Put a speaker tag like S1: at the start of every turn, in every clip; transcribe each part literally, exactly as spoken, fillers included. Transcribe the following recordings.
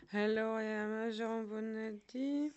S1: Hello, I am Jean Bonetti.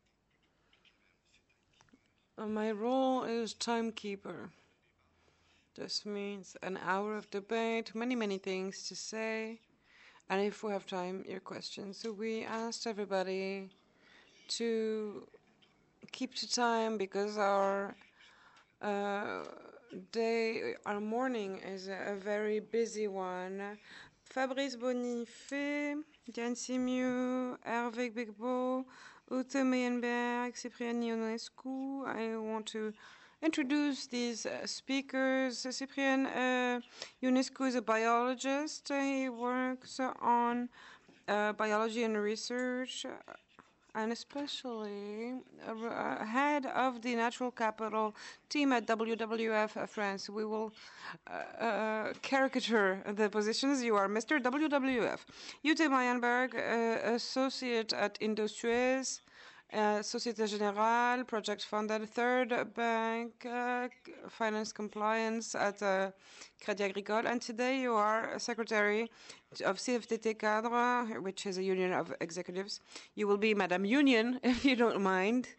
S1: Uh, My role is timekeeper. This means an hour of debate, many, many things to say, and if we have time, your questions. So we asked everybody to keep to time because our uh, day, our morning is a, a very busy one. Fabrice Bonifay, Diane Simiu, Hervé Bigbo, Ute Meyenberg, Cyprien Ionescu. I want to introduce these uh, speakers. Cyprien uh, Ionescu is a biologist. He works on uh, biology and research, uh, and especially uh, head of the natural capital team at W W F France. We will uh, uh, caricature the positions. You are Mister W W F. Ute Meyenberg, uh, associate at Indosuez, uh, Societe Generale, project funded, third bank, uh, finance compliance at uh, Crédit Agricole. And today you are secretary of C F T T Cadre, which is a union of executives. You will be Madame Union, if you don't mind.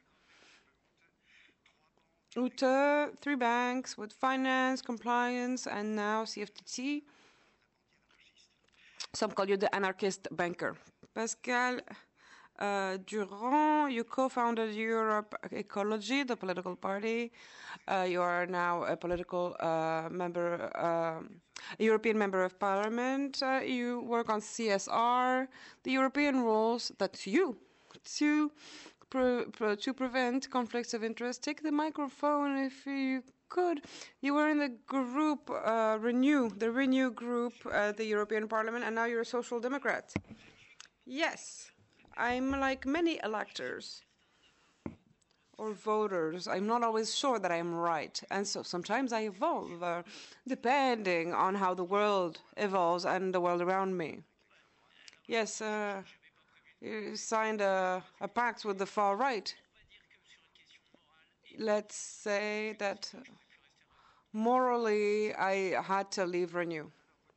S1: Ute, three banks with finance, compliance, and now C F T T. Some call you the anarchist banker. Pascal uh, Durand, you co-founded Europe Ecology, the political party. Uh, you are now a political uh, member, um, a European member of parliament. Uh, you work on C S R, the European rules. That's you. To, pre pre to prevent conflicts of interest. Take the microphone if you could. You were in the group uh, Renew, the Renew group at the European Parliament, and now you're a social democrat. Yes, I'm like many electors or voters. I'm not always sure that I'm right, and so sometimes I evolve, uh, depending on how the world evolves and the world around me. Yes, uh, you signed a, a pact with the far right. Let's say that morally I had to leave Renew.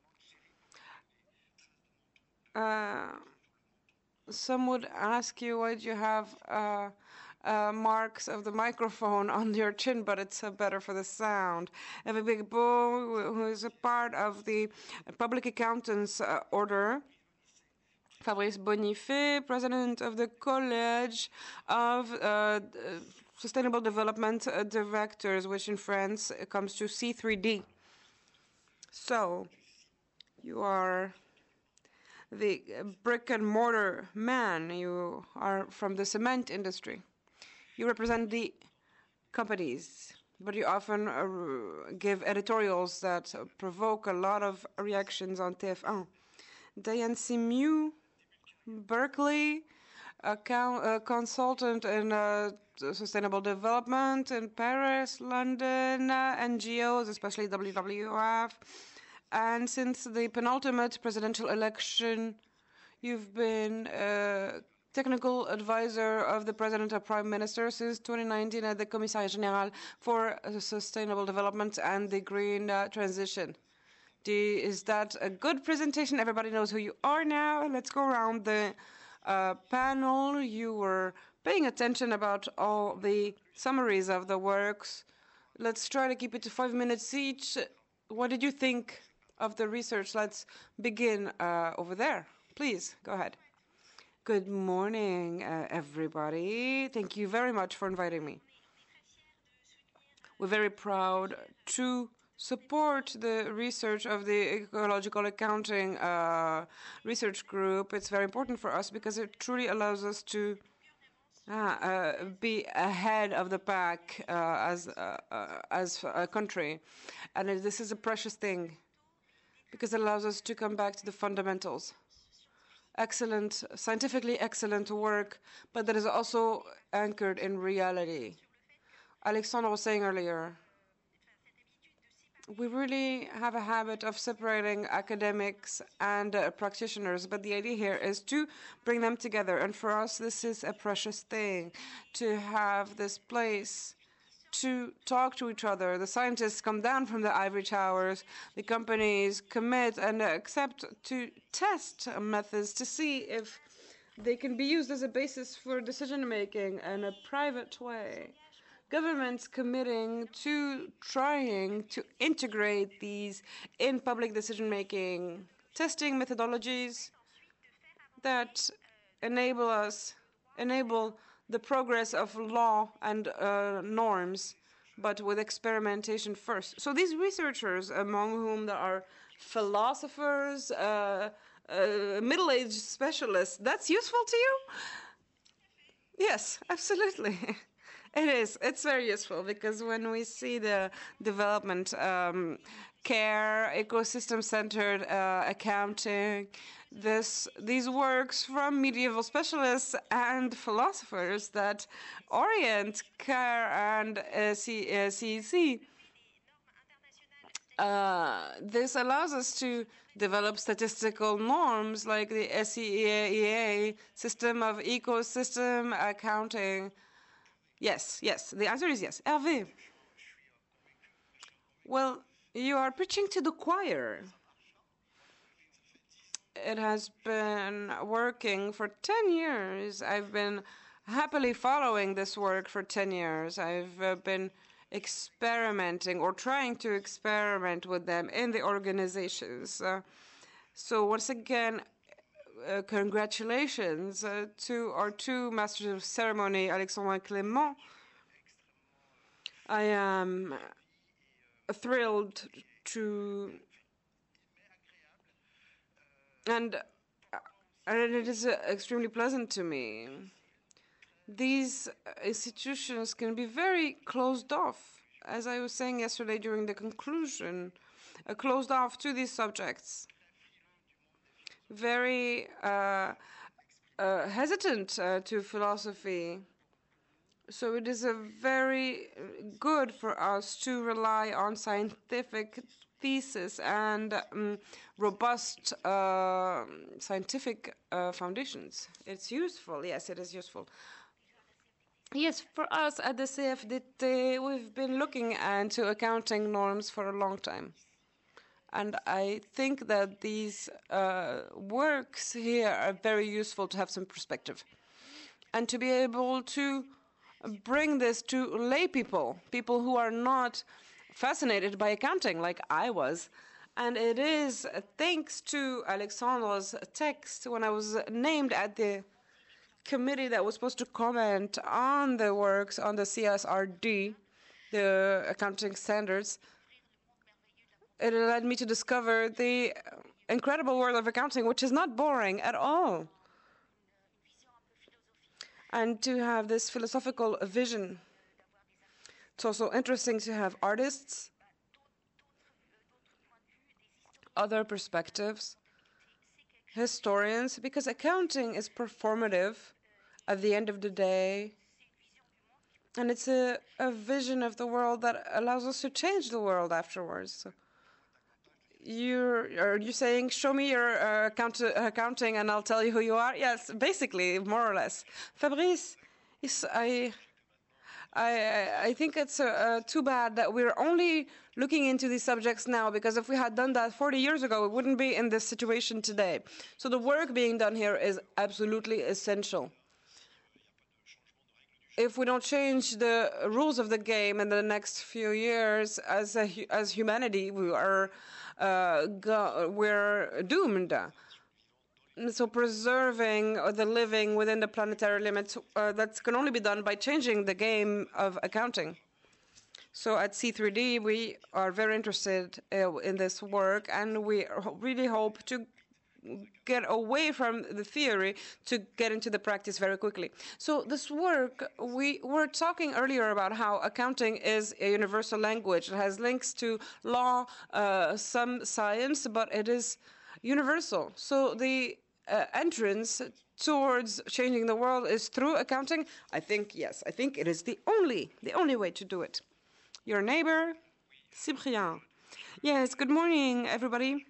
S1: Uh, some would ask you why do you have uh, uh, marks of the microphone on your chin, but it's uh, better for the sound. Hervé Bigbo, who is a part of the Public Accountants uh, Order. Fabrice Bonifay, president of the College of uh, Sustainable Development uh, Directors, which in France comes to C three D. So, you are the brick and mortar man. You are from the cement industry. You represent the companies, but you often uh, give editorials that uh, provoke a lot of reactions on T F one. Diane Simiu, Berkeley, a, a consultant in uh, sustainable development in Paris, London, uh, N G Os, especially W W F. And since the penultimate presidential election, you've been a technical advisor of the President and Prime Minister since twenty nineteen at the Commissariat Général for Sustainable Development and the Green uh, Transition. You, is that a good presentation? Everybody knows who you are now. Let's go around the uh, panel. You were paying attention about all the summaries of the works. Let's try to keep it to five minutes each. What did you think of the research? Let's begin uh, over there. Please, go ahead. Good morning, uh, everybody. Thank you very much for inviting me. We're very proud to support the research of the Ecological Accounting uh, Research Group. It's very important for us because it truly allows us to uh, uh, be ahead of the pack uh, as, uh, uh, as a country. And this is a precious thing because it allows us to come back to the fundamentals. Excellent, scientifically excellent work, but that is also anchored in reality. Alexandre was saying earlier, we really have a habit of separating academics and uh, practitioners, but the idea here is to bring them together. And for us, this is a precious thing, to have this place to talk to each other. The scientists come down from the ivory towers, the companies commit and accept to test methods to see if they can be used as a basis for decision-making in a private way. Governments committing to trying to integrate these in public decision-making, testing methodologies that enable us, enable the progress of law and uh, norms, but with experimentation first. So these researchers, among whom there are philosophers, uh, uh, middle-aged specialists, that's useful to you? Yes, absolutely. It is. It's very useful because when we see the development, um, care, ecosystem-centered uh, accounting, this these works from medieval specialists and philosophers that orient care and uh, C uh, C E C. Uh, this allows us to develop statistical norms like the S E E A system of ecosystem accounting. Yes, yes. The answer is yes. Hervé. Well, you are preaching to the choir. It has been working for ten years. I've been happily following this work for ten years. I've uh, been experimenting or trying to experiment with them in the organizations. Uh, so once again, uh, congratulations uh, to our two masters of ceremony, Alexandre and Clément. I am thrilled to, and, uh, and it is uh, extremely pleasant to me. These institutions can be very closed off, as I was saying yesterday during the conclusion, uh, closed off to these subjects. Very uh, uh, hesitant uh, to philosophy. So it is a very good for us to rely on scientific thesis and um, robust uh, scientific uh, foundations. It's useful. Yes, it is useful. Yes, for us at the C F D T, we've been looking into accounting norms for a long time. And I think that these uh, works here are very useful to have some perspective. And to be able to bring this to lay people, people who are not fascinated by accounting like I was. And it is thanks to Alexandre's text when I was named at the committee that was supposed to comment on the works on the C S R D, the accounting standards. It led me to discover the incredible world of accounting, which is not boring at all. And to have this philosophical vision. It's also interesting to have artists, other perspectives, historians, because accounting is performative at the end of the day. And it's a, a vision of the world that allows us to change the world afterwards. So you're, are you saying, show me your uh, account accounting and I'll tell you who you are? Yes, basically, more or less. Fabrice, yes, I, I, I think it's uh, uh, too bad that we're only looking into these subjects now, because if we had done that forty years ago, we wouldn't be in this situation today. So the work being done here is absolutely essential. If we don't change the rules of the game in the next few years, as a, as humanity, we are uh, go, we're doomed. So preserving the living within the planetary limits, uh, that can only be done by changing the game of accounting. So at C three D, we are very interested uh, in this work, and we really hope to get away from the theory to get into the practice very quickly. So this work, we were talking earlier about how accounting is a universal language. It has links to law, uh, some science, but it is universal. So the uh, entrance towards changing the world is through accounting. I think, yes, I think it is the only, the only way to do it. Your neighbor, Cyprien. Yes, good morning, everybody.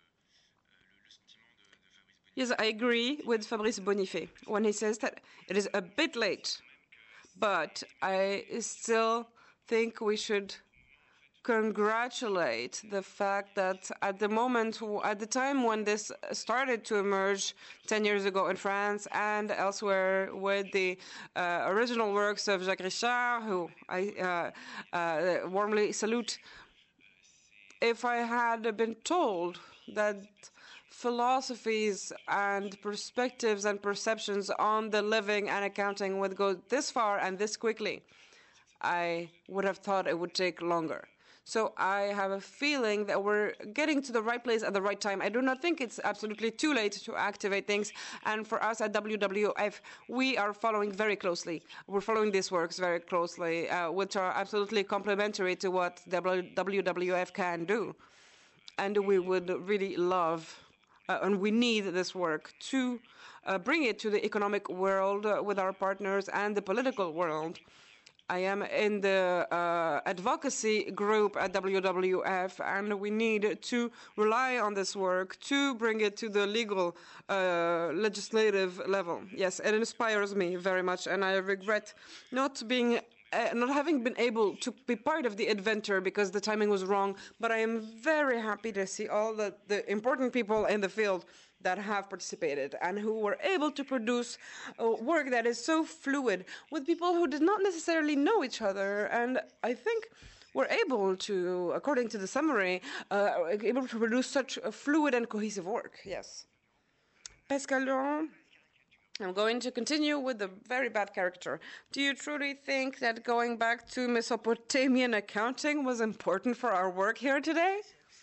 S1: Yes, I agree with Fabrice Bonifay when he says that it is a bit late, but I still think we should congratulate the fact that at the moment, at the time when this started to emerge ten years ago in France and elsewhere with the uh, original works of Jacques Richard, who I uh, uh, warmly salute, if I had been told that philosophies and perspectives and perceptions on the living and accounting would go this far and this quickly, I would have thought it would take longer. So I have a feeling that we're getting to the right place at the right time. I do not think it's absolutely too late to activate things. And for us at W W F, we are following very closely. We're following these works very closely, uh, which are absolutely complementary to what W W F can do. And we would really love, uh, and we need this work to uh, bring it to the economic world uh, with our partners and the political world. I am in the uh, advocacy group at W W F, and we need to rely on this work to bring it to the legal, uh, legislative level. Yes, it inspires me very much, and I regret not being, uh, not having been able to be part of the adventure because the timing was wrong. But I am very happy to see all the, the important people in the field that have participated and who were able to produce uh, work that is so fluid with people who did not necessarily know each other. And I think we're able to, according to the summary, uh, able to produce such a fluid and cohesive work. Yes. Pascal Laurent, I'm going to continue with the very bad character. Do you truly think that going back to Mesopotamian accounting was important for our work here today?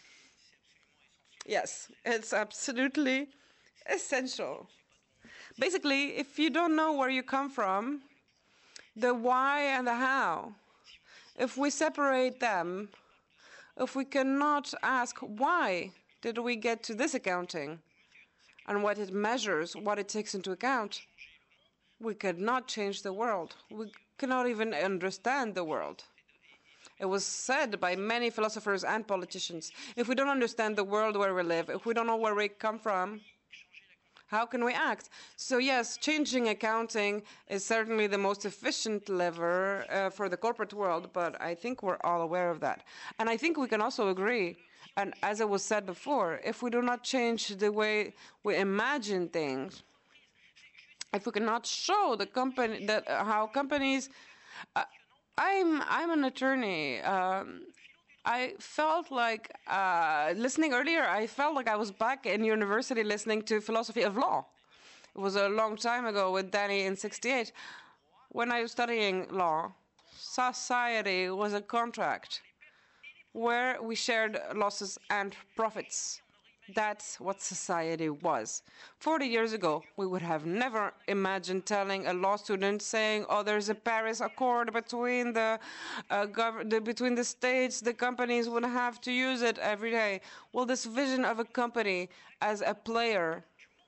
S1: Yes, it's absolutely essential. Basically, if you don't know where you come from, the why and the how, if we separate them, if we cannot ask why did we get to this accounting and what it measures, what it takes into account, we cannot change the world. We cannot even understand the world. It was said by many philosophers and politicians, if we don't understand the world where we live, if we don't know where we come from, how can we act? So yes, changing accounting is certainly the most efficient lever uh, for the corporate world, but I think we're all aware of that. And I think we can also agree, and as it was said before, if we do not change the way we imagine things, if we cannot show the company that uh, how companies uh, I'm I'm an attorney. Um, I felt like uh, listening earlier. I felt like I was back in university listening to philosophy of law. It was a long time ago with Danny in sixty-eight. When I was studying law, society was a contract where we shared losses and profits. That's what society was. forty years ago, we would have never imagined telling a law student saying, oh, there's a Paris Accord between the, uh, gov the between the states, the companies would have to use it every day. Well, this vision of a company as a player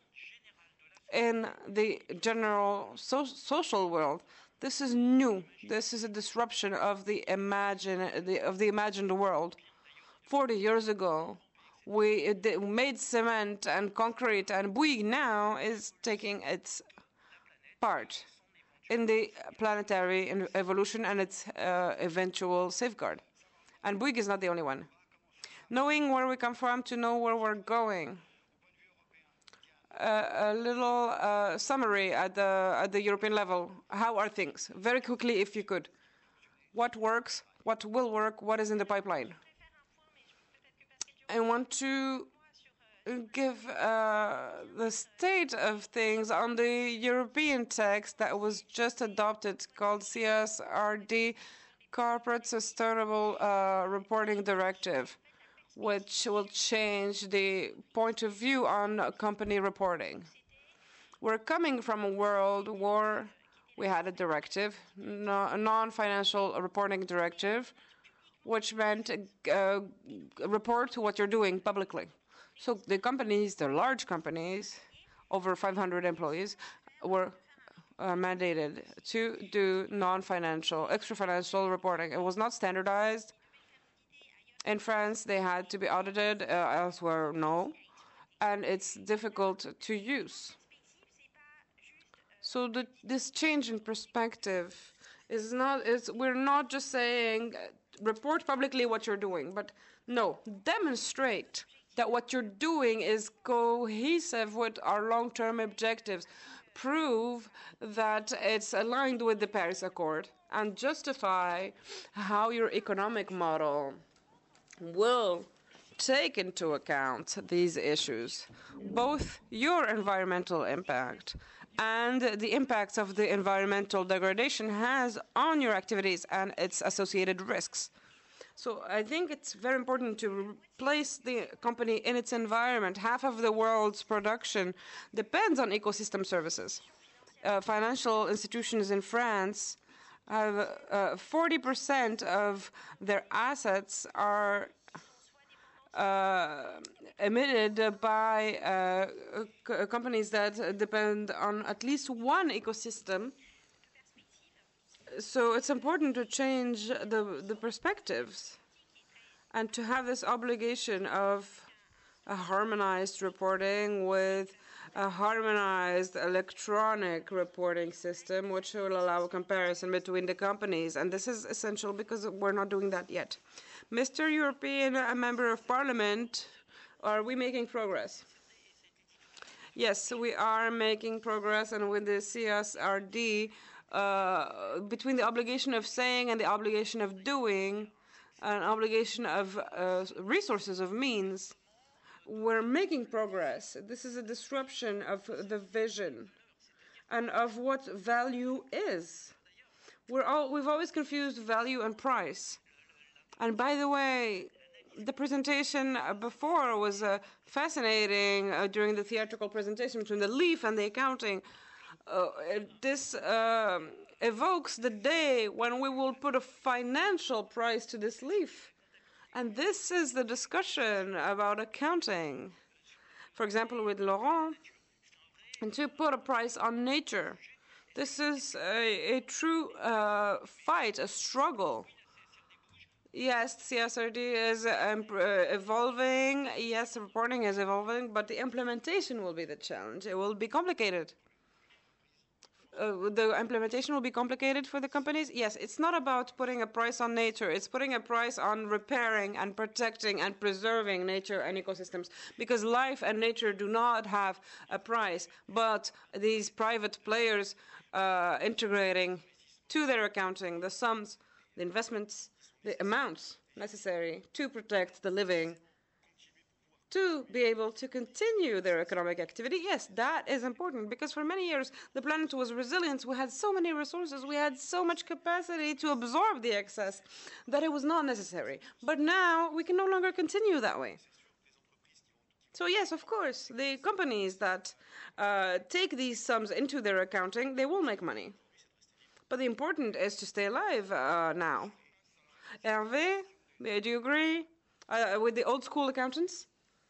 S1: in the general so social world, this is new. This is a disruption of the imagine the, of the imagined world. forty years ago, we made cement and concrete, and Bouygues now is taking its part in the planetary evolution and its uh, eventual safeguard. And Bouygues is not the only one. Knowing where we come from to know where we're going. Uh, a little uh, summary at the at the European level. How are things? Very quickly, if you could. What works? What will work? What is in the pipeline? I want to give uh, the state of things on the European text that was just adopted called C S R D, Corporate Sustainable uh, Reporting Directive, which will change the point of view on company reporting. We're coming from a world where we had a directive, no, a non-financial reporting directive, which meant uh, report to what you're doing publicly. So the companies, the large companies, over five hundred employees, were uh, mandated to do non-financial, extra-financial reporting. It was not standardized. In France, they had to be audited. Uh, elsewhere, no. And it's difficult to use. So the, this change in perspective It's not, it's, we're not just saying uh, report publicly what you're doing, but no, demonstrate that what you're doing is cohesive with our long-term objectives. Prove that it's aligned with the Paris Accord and justify how your economic model will take into account these issues, both your environmental impact and the impacts of the environmental degradation has on your activities and its associated risks. So I think it's very important to place the company in its environment. Half of the world's production depends on ecosystem services. Uh, financial institutions in France have uh, forty percent of their assets are uh, emitted by uh, c companies that depend on at least one ecosystem. So it's important to change the, the perspectives and to have this obligation of a harmonized reporting with a harmonized electronic reporting system, which will allow a comparison between the companies. And this is essential because we're not doing that yet. Mister European Member of Parliament, are we making progress? Yes, we are making progress, and with the C S R D, uh, between the obligation of saying and the obligation of doing, an obligation of uh, resources, of means, we're making progress. This is a disruption of the vision and of what value is. We're all, we've always confused value and price. And by the way, the presentation before was uh, fascinating uh, during the theatrical presentation between the leaf and the accounting. Uh, this uh, evokes the day when we will put a financial price to this leaf. And this is the discussion about accounting. For example, with Laurent, and to put a price on nature. This is a, a true uh, fight, a struggle. Yes, C S R D is um, uh, evolving. Yes, the reporting is evolving, but the implementation will be the challenge. It will be complicated. Uh, the implementation will be complicated for the companies. Yes, it's not about putting a price on nature. It's putting a price on repairing and protecting and preserving nature and ecosystems, because life and nature do not have a price, but these private players uh, integrating to their accounting the sums, the investments, the amounts necessary to protect the living, to be able to continue their economic activity. Yes, that is important, because for many years the planet was resilient. We had so many resources, we had so much capacity to absorb the excess that it was not necessary. But now we can no longer continue that way. So yes, of course, the companies that uh, take these sums into their accounting, they will make money. But the important is to stay alive uh, now. Hervé, do you agree uh, with the old school accountants?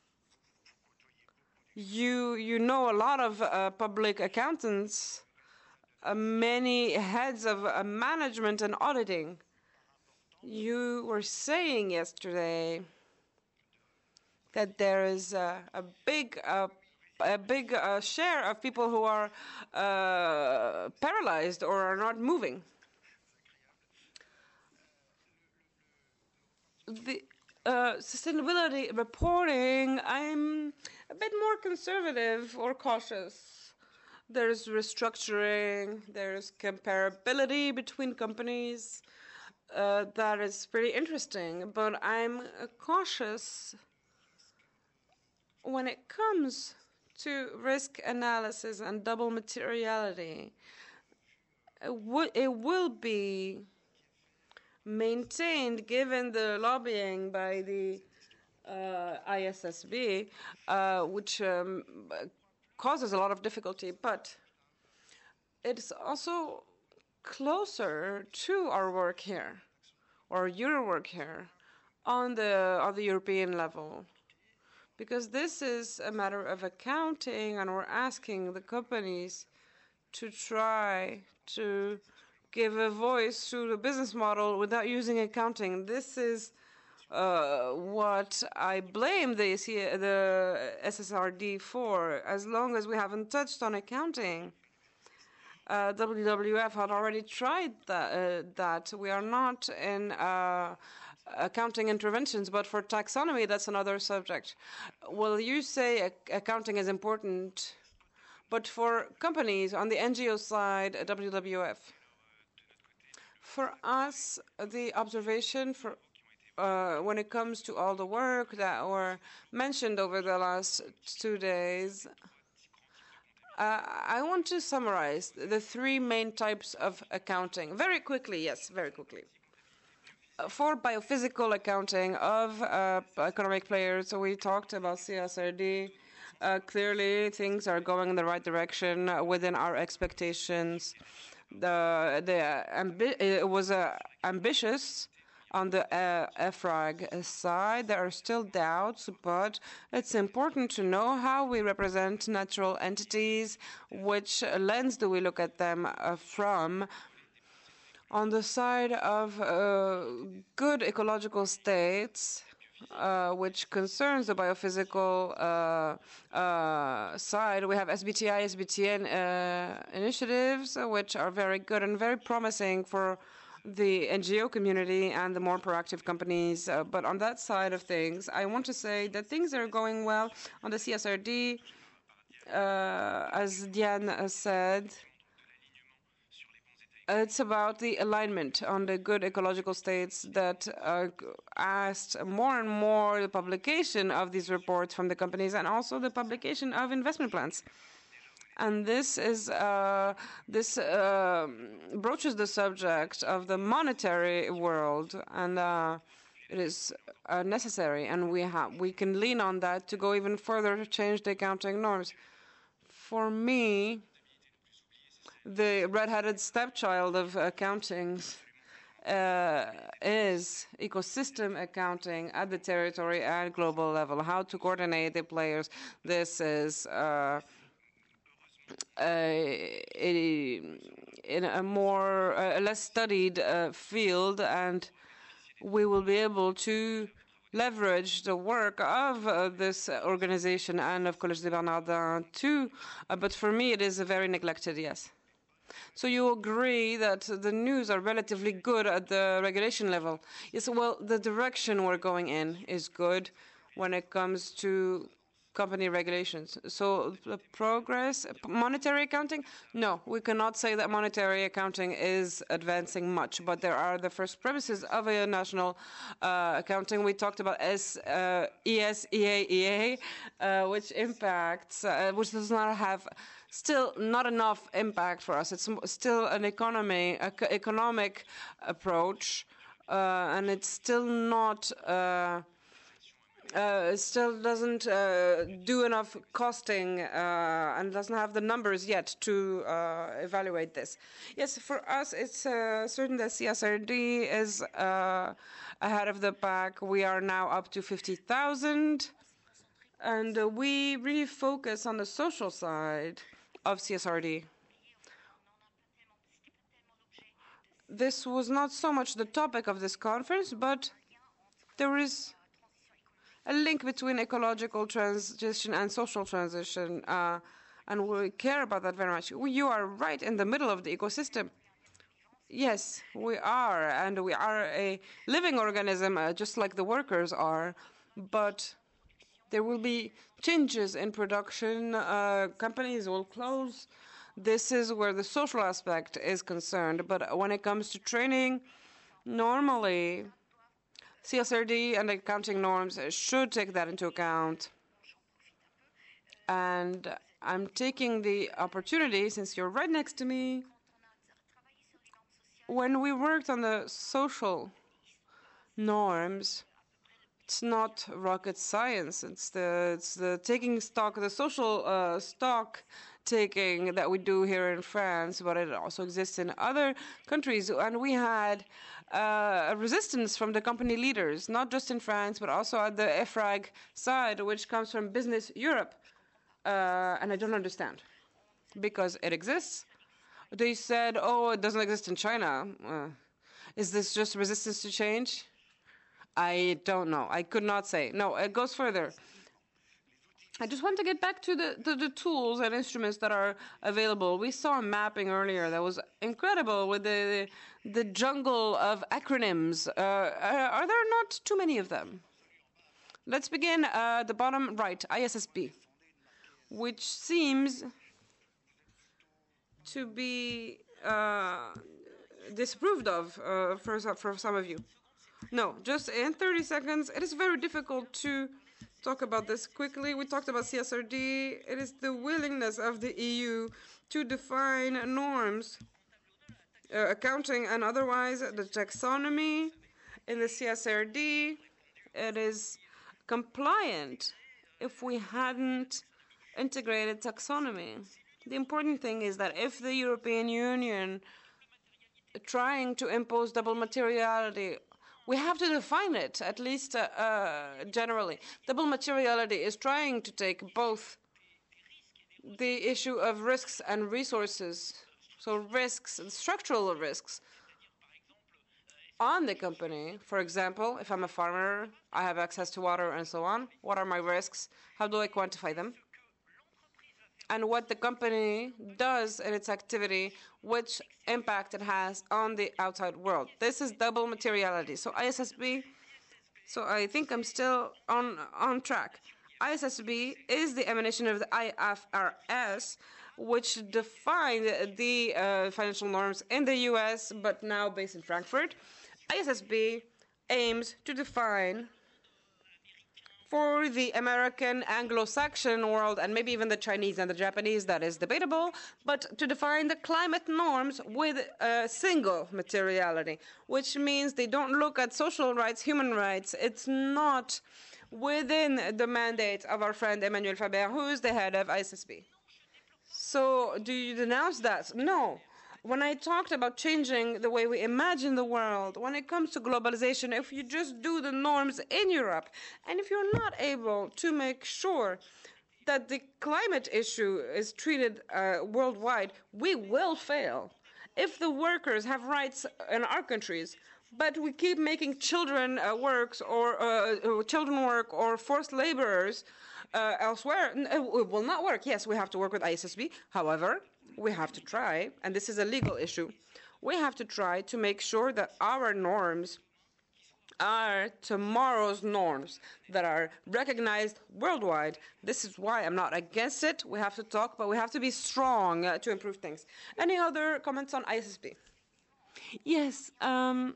S1: You you know a lot of uh, public accountants, uh, many heads of uh, management and auditing. You were saying yesterday that there is uh, a big uh, a big uh, share of people who are uh, paralyzed or are not moving. The uh, sustainability reporting, I'm a bit more conservative or cautious. There's restructuring, there's comparability between companies. Uh, that is pretty interesting, but I'm uh, cautious when it comes to risk analysis and double materiality. It, it will be maintained given the lobbying by the uh, I S S B, uh, which um, causes a lot of difficulty, but it's also closer to our work here, or your work here, on the on the European level, because this is a matter of accounting, and we're asking the companies to try to give a voice to the business model without using accounting. This is uh, what I blame the, the S S R D for, as long as we haven't touched on accounting. uh, W W F had already tried that. Uh, that. We are not in uh, accounting interventions, but for taxonomy, that's another subject. Well, you say accounting is important, but for companies on the N G O side, W W F. For us, the observation for uh, when it comes to all the work that were mentioned over the last two days, uh, I want to summarize the three main types of accounting very quickly. Yes, very quickly. Uh, for biophysical accounting of uh, economic players, so we talked about C S R D. Uh, clearly, things are going in the right direction uh, within our expectations. The the ambi- it was uh, ambitious on the uh, EFRAG side. There are still doubts, but it's important to know how we represent natural entities, which lens do we look at them uh, from. On the side of uh, good ecological states, uh, which concerns the biophysical uh, uh, side, we have S B T I, S B T N uh, initiatives, uh, which are very good and very promising for the N G O community and the more proactive companies. Uh, but on that side of things, I want to say that things are going well on the C S R D. Uh, as Diane said, it's about the alignment on the good ecological states that uh, asked more and more the publication of these reports from the companies and also the publication of investment plans. And this is uh, this uh, broaches the subject of the monetary world, and uh, it is uh, necessary, and we have we can lean on that to go even further to change the accounting norms. For me, the red-headed stepchild of accounting uh, is ecosystem accounting at the territory and global level. How to coordinate the players. This is uh, a, a, in a more uh, less studied uh, field, and we will be able to leverage the work of uh, this organization and of Collège des Bernardins too. Uh, but for me, it is very neglected. Yes. So you agree that the news are relatively good at the regulation level? Yes, well, the direction we're going in is good when it comes to company regulations. So the progress, monetary accounting? No, we cannot say that monetary accounting is advancing much, but there are the first premises of a national uh, accounting. We talked about S, uh, E S, E A, E A, uh, which impacts, uh, which does not have still not enough impact for us. It's still an economy, economic approach, uh, and it's still not, uh, uh, it still doesn't uh, do enough costing uh, and doesn't have the numbers yet to uh, evaluate this. Yes, for us, it's uh, certain that C S R D is uh, ahead of the pack. We are now up to fifty thousand, and uh, we really focus on the social side of C S R D. This was not so much the topic of this conference, but there is a link between ecological transition and social transition, uh, and we care about that very much. You are right in the middle of the ecosystem. Yes, we are, and we are a living organism, uh, just like the workers are, but there will be changes in production. Uh, companies will close. This is where the social aspect is concerned. But when it comes to training, normally C S R D and accounting norms should take that into account. And I'm taking the opportunity, since you're right next to me, when we worked on the social norms, it's not rocket science. It's the it's the taking stock, the social uh, stock taking that we do here in France, but it also exists in other countries. And we had uh, a resistance from the company leaders, not just in France, but also at the EFRAG side, which comes from Business Europe. Uh, and I don't understand, because it exists. They said, oh, it doesn't exist in China. Uh, is this just resistance to change? I don't know. I could not say. No, it goes further. I just want to get back to the, the, the tools and instruments that are available. We saw a mapping earlier that was incredible with the the jungle of acronyms. Uh, are there not too many of them? Let's begin uh, the bottom right, I S S B, which seems to be uh, disapproved of uh, for, for some of you. No, just in thirty seconds. It is very difficult to talk about this quickly. We talked about C S R D. It is the willingness of the E U to define norms, uh, accounting and otherwise, the taxonomy in the C S R D. It is compliant if we hadn't integrated taxonomy. The important thing is that if the European Union trying to impose double materiality, we have to define it, at least uh, uh, generally. Double materiality is trying to take both the issue of risks and resources, so risks and structural risks, on the company. For example, if I'm a farmer, I have access to water and so on. What are my risks? How do I quantify them? And what the company does in its activity, which impact it has on the outside world. This is double materiality. So I S S B, so I think I'm still on, on track. I S S B is the emanation of the I F R S, which defined the uh, financial norms in the U S, but now based in Frankfurt. I S S B aims to define for the American Anglo-Saxon world, and maybe even the Chinese and the Japanese, that is debatable, but to define the climate norms with a single materiality, which means they don't look at social rights, human rights. It's not within the mandate of our friend Emmanuel Faber, who is the head of I S S B. So do you denounce that? No. When I talked about changing the way we imagine the world, when it comes to globalization, if you just do the norms in Europe, and if you're not able to make sure that the climate issue is treated uh, worldwide, we will fail. If the workers have rights in our countries, but we keep making children uh, works or uh, children work or forced laborers uh, elsewhere, it will not work. Yes, we have to work with I S S B. However, we have to try, and this is a legal issue, we have to try to make sure that our norms are tomorrow's norms that are recognized worldwide. This is why I'm not against it. We have to talk, but we have to be strong uh, to improve things. Any other comments on I S S B? Yes. Um,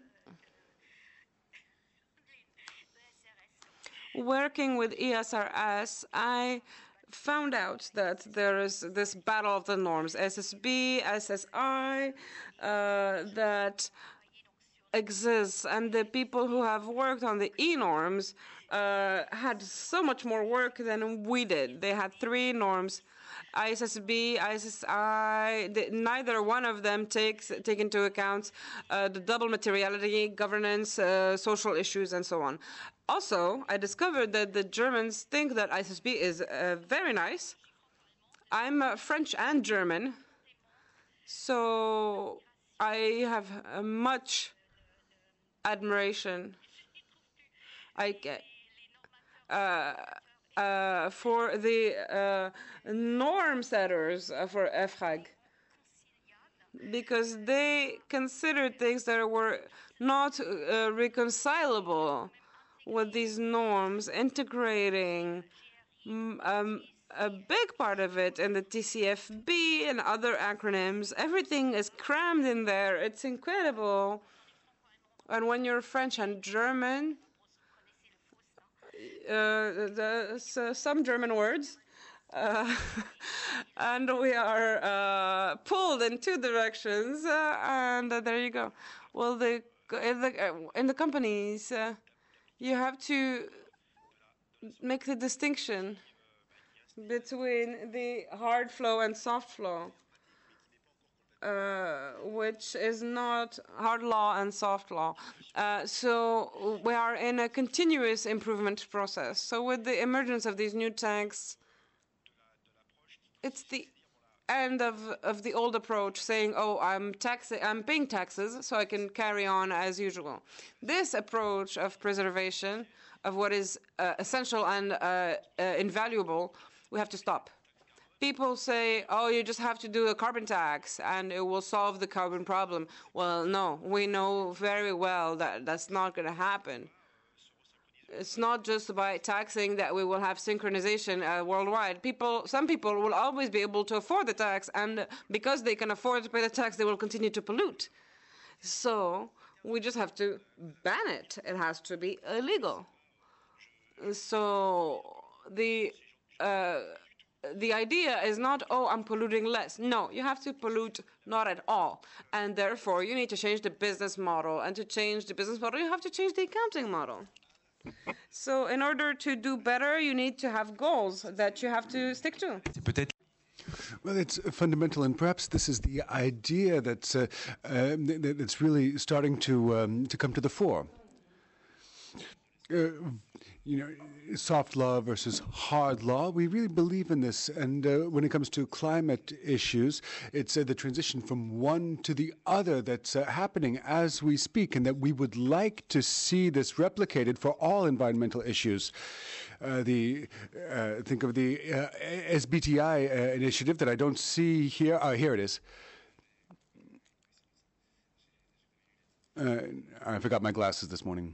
S1: working with E S R S, I found out that there is this battle of the norms, S S B, S S I, uh, that exists, and the people who have worked on the E-norms uh, had so much more work than we did. They had three norms, I S S B, I S S I, the, neither one of them takes take into account uh, the double materiality, governance, uh, social issues, and so on. Also, I discovered that the Germans think that I S S B is uh, very nice. I'm uh, French and German, so I have uh, much admiration I get uh, uh, for the uh, norm setters uh, for E F R A G, because they considered things that were not uh, reconcilable with these norms, integrating um, a big part of it in the T C F B and other acronyms. Everything is crammed in there. It's incredible. And when you're French and German, uh, there's uh, some German words, uh, and we are uh, pulled in two directions, uh, and uh, there you go. Well, the, in, the, in the companies, uh, you have to make the distinction between the hard flow and soft flow, uh, which is not hard law and soft law. Uh, so we are in a continuous improvement process. So with the emergence of these new tanks, it's the end of, of the old approach, saying, oh, I'm tax I'm paying taxes, so I can carry on as usual. This approach of preservation of what is uh, essential and uh, uh, invaluable we have to stop. People say, oh, you just have to do a carbon tax and it will solve the carbon problem. Well, no, we know very well that that's not going to happen. It's not just by taxing that we will have synchronization uh, worldwide. People, some people will always be able to afford the tax, and because they can afford to pay the tax, they will continue to pollute. So we just have to ban it. It has to be illegal. So the uh, the idea is not, oh, I'm polluting less. No, you have to pollute not at all. And therefore, you need to change the business model. And to change the business model, you have to change the accounting model. So in order to do better, you need to have goals that you have to stick to.
S2: Well, it's fundamental, and perhaps this is the idea that's uh, uh, that's really starting to um, to come to the fore. Uh, you know, soft law versus hard law. We really believe in this, and uh, when it comes to climate issues, it's uh, the transition from one to the other that's uh, happening as we speak, and that we would like to see this replicated for all environmental issues. Uh, the uh, think of the uh, S B T I uh, initiative that I don't see here. Uh, here it is. Uh, I forgot my glasses this morning.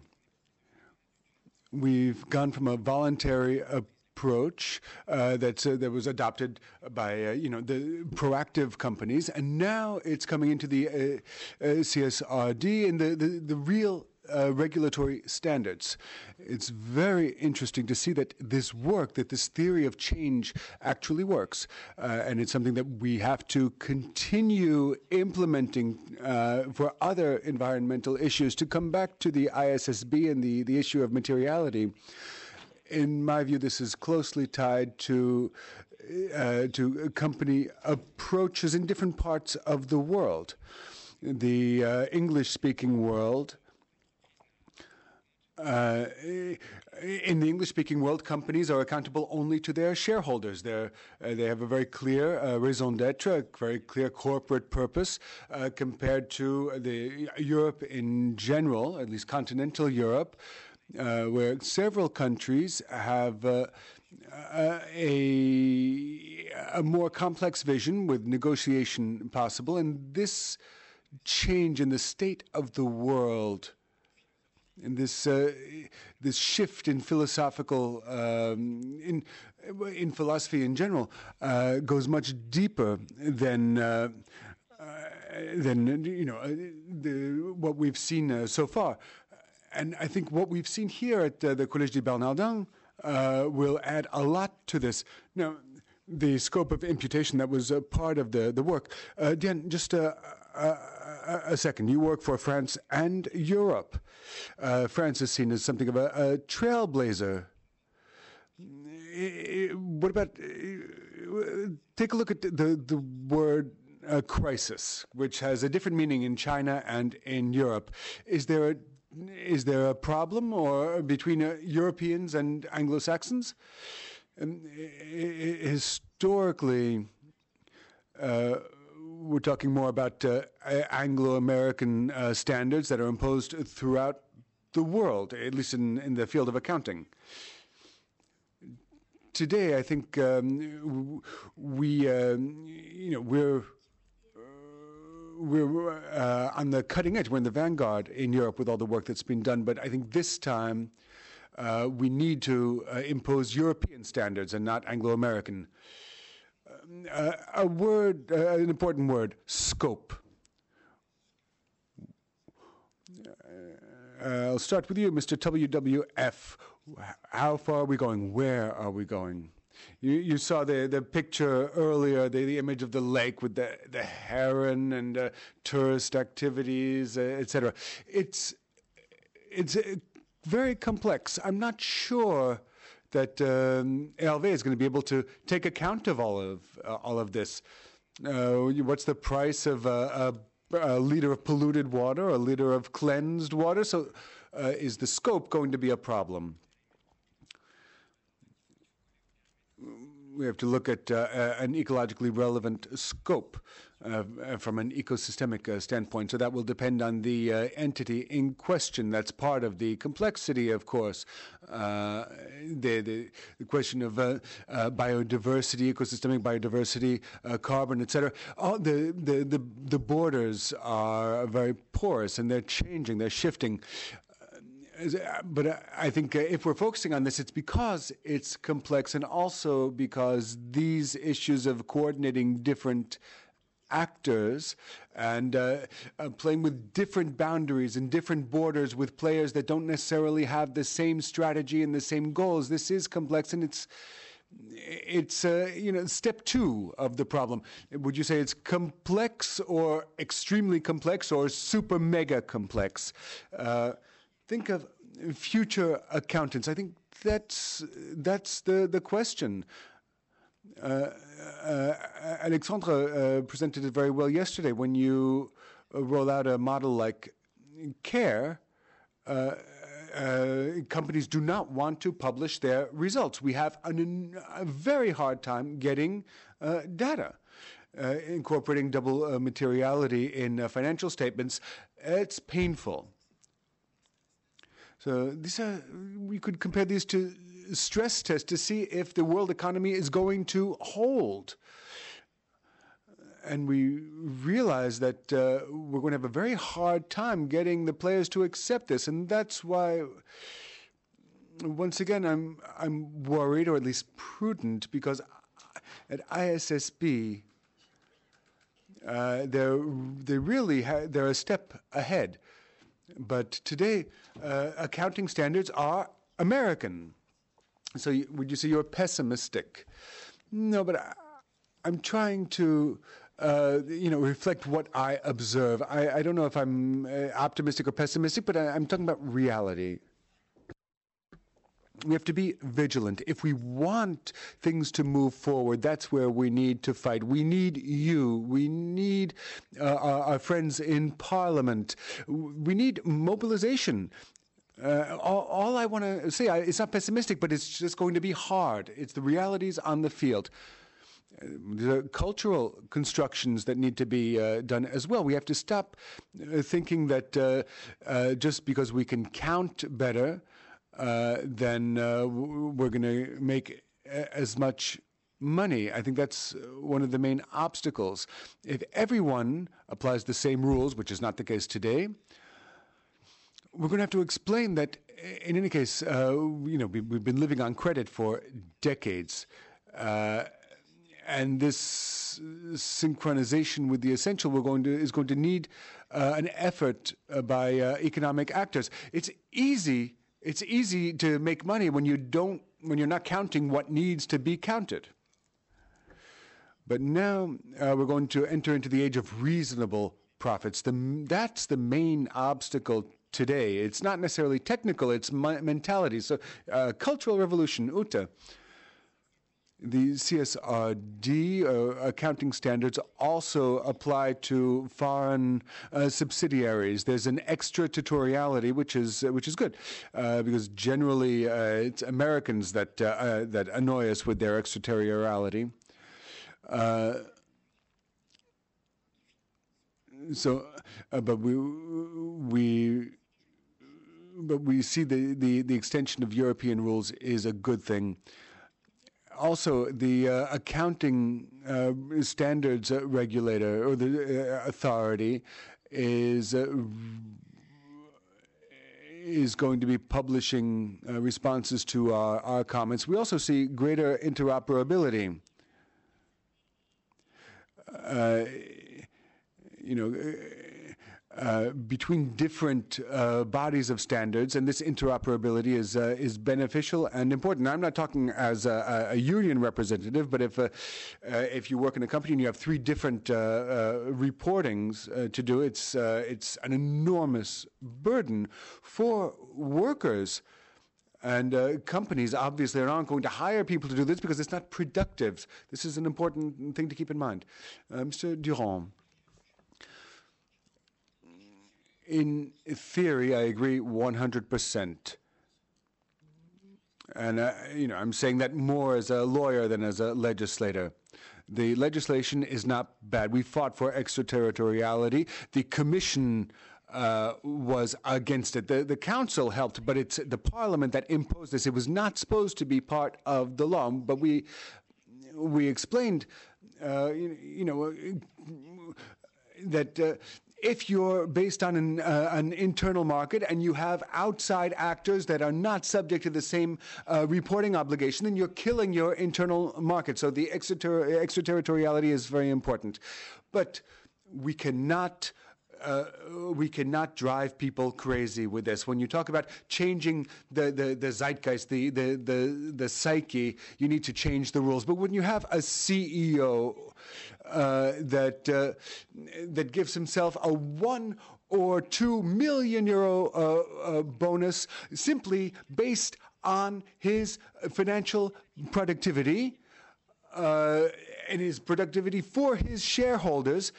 S2: We've gone from a voluntary approach uh, that's, uh, that was adopted by uh, you know the proactive companies, and now it's coming into the uh, uh, C S R D and the, the, the real uh, regulatory standards. It's very interesting to see that this work, that this theory of change actually works, uh, and it's something that we have to continue implementing uh, for other environmental issues. To come back to the I S S B and the, the issue of materiality, in my view, this is closely tied to uh, to company approaches in different parts of the world. The uh, English-speaking world. Uh, in the English-speaking world, companies are accountable only to their shareholders. They're, uh, they have a very clear uh, raison d'être, a very clear corporate purpose, uh, compared to the Europe in general, at least continental Europe, uh, where several countries have uh, uh, a, a more complex vision with negotiation possible. And this change in the state of the world, and this uh, this shift in philosophical um, in in philosophy in general uh, goes much deeper than uh, uh, than you know uh, the, what we've seen uh, so far. And I think what we've seen here at uh, the Collège des Bernardins uh, will add a lot to this. Now, the scope of imputation that was a part of the the work. Uh, Diane, just uh, uh, a second. You work for France and Europe. Uh, France is seen as something of a, a trailblazer. What about, uh, take a look at the, the word uh, crisis, which has a different meaning in China and in Europe. Is there a, is there a problem or between uh, Europeans and Anglo-Saxons? Um, historically, uh, we're talking more about uh, Anglo-American uh, standards that are imposed throughout the world, at least in, in the field of accounting. Today, I think um, we, um, you know, we're uh, we're uh, on the cutting edge. We're in the vanguard in Europe with all the work that's been done. But I think this time uh, we need to uh, impose European standards and not Anglo-American. Uh, a word, uh, an important word, scope. Uh, I'll start with you, Mister W W F. How far are we going? Where are we going? You, you saw the, the picture earlier, the, the image of the lake with the, the heron and uh, tourist activities, uh, et cetera. It's, it's uh, very complex. I'm not sure that um, E L V is going to be able to take account of all of uh, all of this. Uh, what's the price of a, a, a liter of polluted water, a liter of cleansed water? So, uh, is the scope going to be a problem? we have to look at uh, an ecologically relevant scope uh, from an ecosystemic uh, standpoint. So that will depend on the uh, entity in question. That's part of the complexity, of course. Uh, the, the, the question of uh, uh, biodiversity, ecosystemic biodiversity, uh, carbon, et cetera. All the, the, the, the borders are very porous, and they're changing, they're shifting. But I think if we're focusing on this, it's because it's complex, and also because these issues of coordinating different actors and uh, uh, playing with different boundaries and different borders with players that don't necessarily have the same strategy and the same goals. This is complex, and it's it's uh, you know, step two of the problem. Would you say it's complex or extremely complex or super mega complex? Uh, Think of future accountants. I think that's that's the the question. Uh, uh, Alexandre uh, presented it very well yesterday. When you uh, roll out a model like CARE, uh, uh, companies do not want to publish their results. We have an, a very hard time getting uh, data. Uh, incorporating double uh, materiality in uh, financial statements, it's painful. So these are, we could compare these to stress tests to see if the world economy is going to hold. And we realize that uh, we're going to have a very hard time getting the players to accept this. And that's why, once again, I'm, I'm worried, or at least prudent, because at I S S B, uh, they're, they really ha- they're a step ahead. But today, uh, accounting standards are American. So you, would you say you're pessimistic? No, but I, I'm trying to, uh, you know, reflect what I observe. I, I don't know if I'm uh, optimistic or pessimistic, but I, I'm talking about reality. We have to be vigilant. If we want things to move forward, that's where we need to fight. We need you. We need uh, our, our friends in Parliament. We need mobilization. Uh, all, all I want to say, I, it's not pessimistic, but it's just going to be hard. It's the realities on the field. Uh, there are cultural constructions that need to be uh, done as well. We have to stop uh, thinking that uh, uh, just because we can count better, Uh, then uh, we're going to make as much money. I think that's one of the main obstacles. If everyone applies the same rules, which is not the case today, we're going to have to explain that, in any case, uh, you know, we, we've been living on credit for decades. Uh, and this synchronization with the essential we're going to, is going to need uh, an effort uh, by uh, economic actors. It's easy It's easy to make money when you don't, when you're not counting what needs to be counted. But now uh, we're going to enter into the age of reasonable profits. The, that's the main obstacle today. It's not necessarily technical, it's mentality. So uh, cultural revolution, Uta. The C S R D uh, accounting standards also apply to foreign uh, subsidiaries. There's an extraterritoriality, which is uh, which is good, uh, because generally uh, it's Americans that uh, uh, that annoy us with their extraterritoriality. Uh, so, uh, but we we. But we see the, the, the extension of European rules is a good thing. Also, the uh, accounting uh, standards uh, regulator or the uh, authority is uh, is going to be publishing uh, responses to our, our comments. We also see greater interoperability. Uh, you know. Uh, between different uh, bodies of standards, and this interoperability is uh, is beneficial and important. Now, I'm not talking as a, a union representative, but if uh, uh, if you work in a company and you have three different uh, uh, reportings uh, to do, it's uh, it's an enormous burden for workers. And uh, companies obviously are not going to hire people to do this because it's not productive. This is an important thing to keep in mind. Uh, Mister Durand. In theory, I agree one hundred percent. And, uh, you know, I'm saying that more as a lawyer than as a legislator. The legislation is not bad. We fought for extraterritoriality. The Commission uh, was against it. The, the Council helped, but it's the Parliament that imposed this. It was not supposed to be part of the law, but we we explained, uh, you, you know, that uh, if you're based on an, uh, an internal market and you have outside actors that are not subject to the same uh, reporting obligation, then you're killing your internal market. So the extrater- extraterritoriality is very important. But we cannot Uh, we cannot drive people crazy with this. When you talk about changing the, the, the zeitgeist, the, the, the, the psyche, you need to change the rules. But when you have a C E O uh, that, uh, that gives himself a one or two million euro uh, uh, bonus simply based on his financial productivity uh, and his productivity for his shareholders,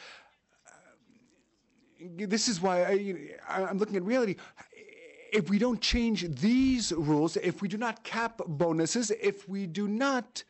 S2: this is why I, I'm looking at reality. If we don't change these rules, if we do not cap bonuses, if we do not,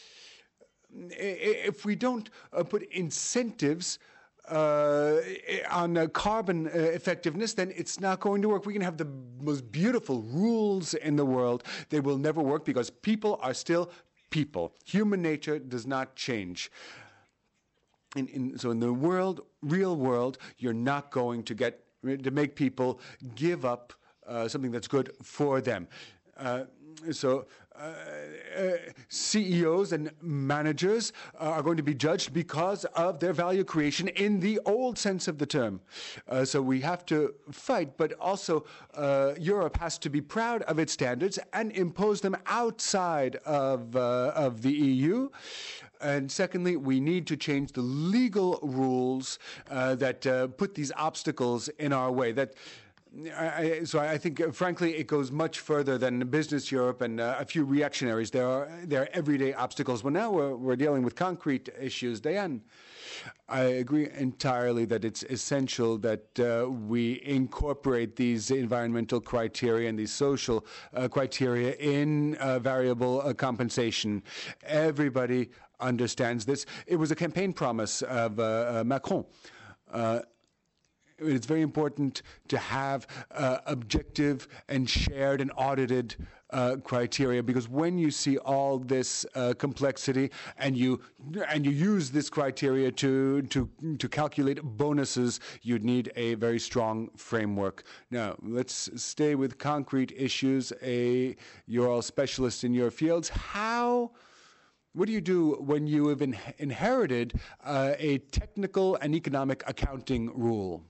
S2: if we don't uh, put incentives uh, on uh, carbon uh, effectiveness, then it's not going to work. We can have the most beautiful rules in the world. They will never work because people are still people. Human nature does not change. In, in, so in the world, real world, you're not going to get to make people give up uh, something that's good for them. Uh, so uh, uh, C E Os and managers are going to be judged because of their value creation in the old sense of the term. Uh, so we have to fight, but also uh, Europe has to be proud of its standards and impose them outside of, uh, of the E U. And secondly, we need to change the legal rules uh, that uh, put these obstacles in our way. That, I, so I think, uh, frankly, it goes much further than Business Europe and uh, a few reactionaries. There are there are everyday obstacles. Well, now we're, we're dealing with concrete issues. Diane, I agree entirely that it's essential that uh, we incorporate these environmental criteria and these social uh, criteria in uh, variable uh, compensation. Everybody understands this. It was a campaign promise of uh, uh, Macron. Uh, it's very important to have uh, objective and shared and audited uh, criteria, because when you see all this uh, complexity and you and you use this criteria to to to calculate bonuses, you'd need a very strong framework. Now, let's stay with concrete issues. A, you're all specialists in your fields. How What do you do when you have in, inherited uh, a technical and economic accounting rule?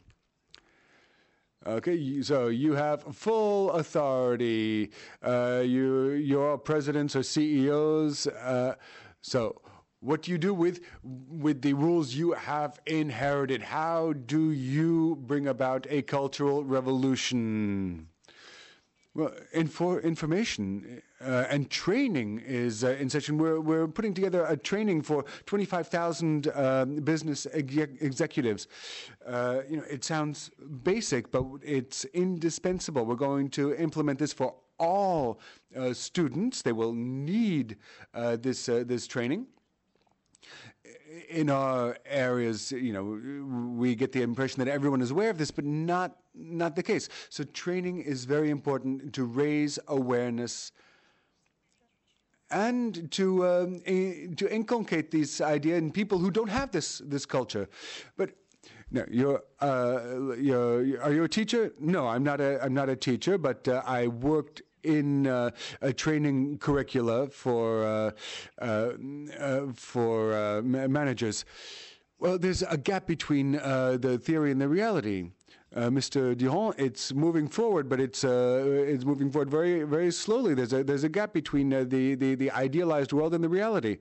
S2: Okay, so you have full authority. Uh, you, you're all presidents or C E Os. Uh, so what do you do with, with the rules you have inherited? How do you bring about a cultural revolution? Well, info, information uh, and training is uh, in session. We're, we're putting together a training for twenty-five thousand uh, business exec executives. Uh, you know, it sounds basic, but it's indispensable. We're going to implement this for all uh, students. They will need uh, this uh, this training. In our areas, you know, we get the impression that everyone is aware of this, but not not the case. So training is very important to raise awareness and to um, to inculcate this idea in people who don't have this this culture. But no, you're uh, you're are you a teacher? No, I'm not a I'm not a teacher, but uh, I worked in uh, a training curricula for uh, uh, uh, for uh, managers. Well, there's a gap between uh, the theory and the reality. Uh, Mister Durand, it's moving forward, but it's uh, it's moving forward very very slowly. There's a there's a gap between uh, the, the the idealized world and the reality.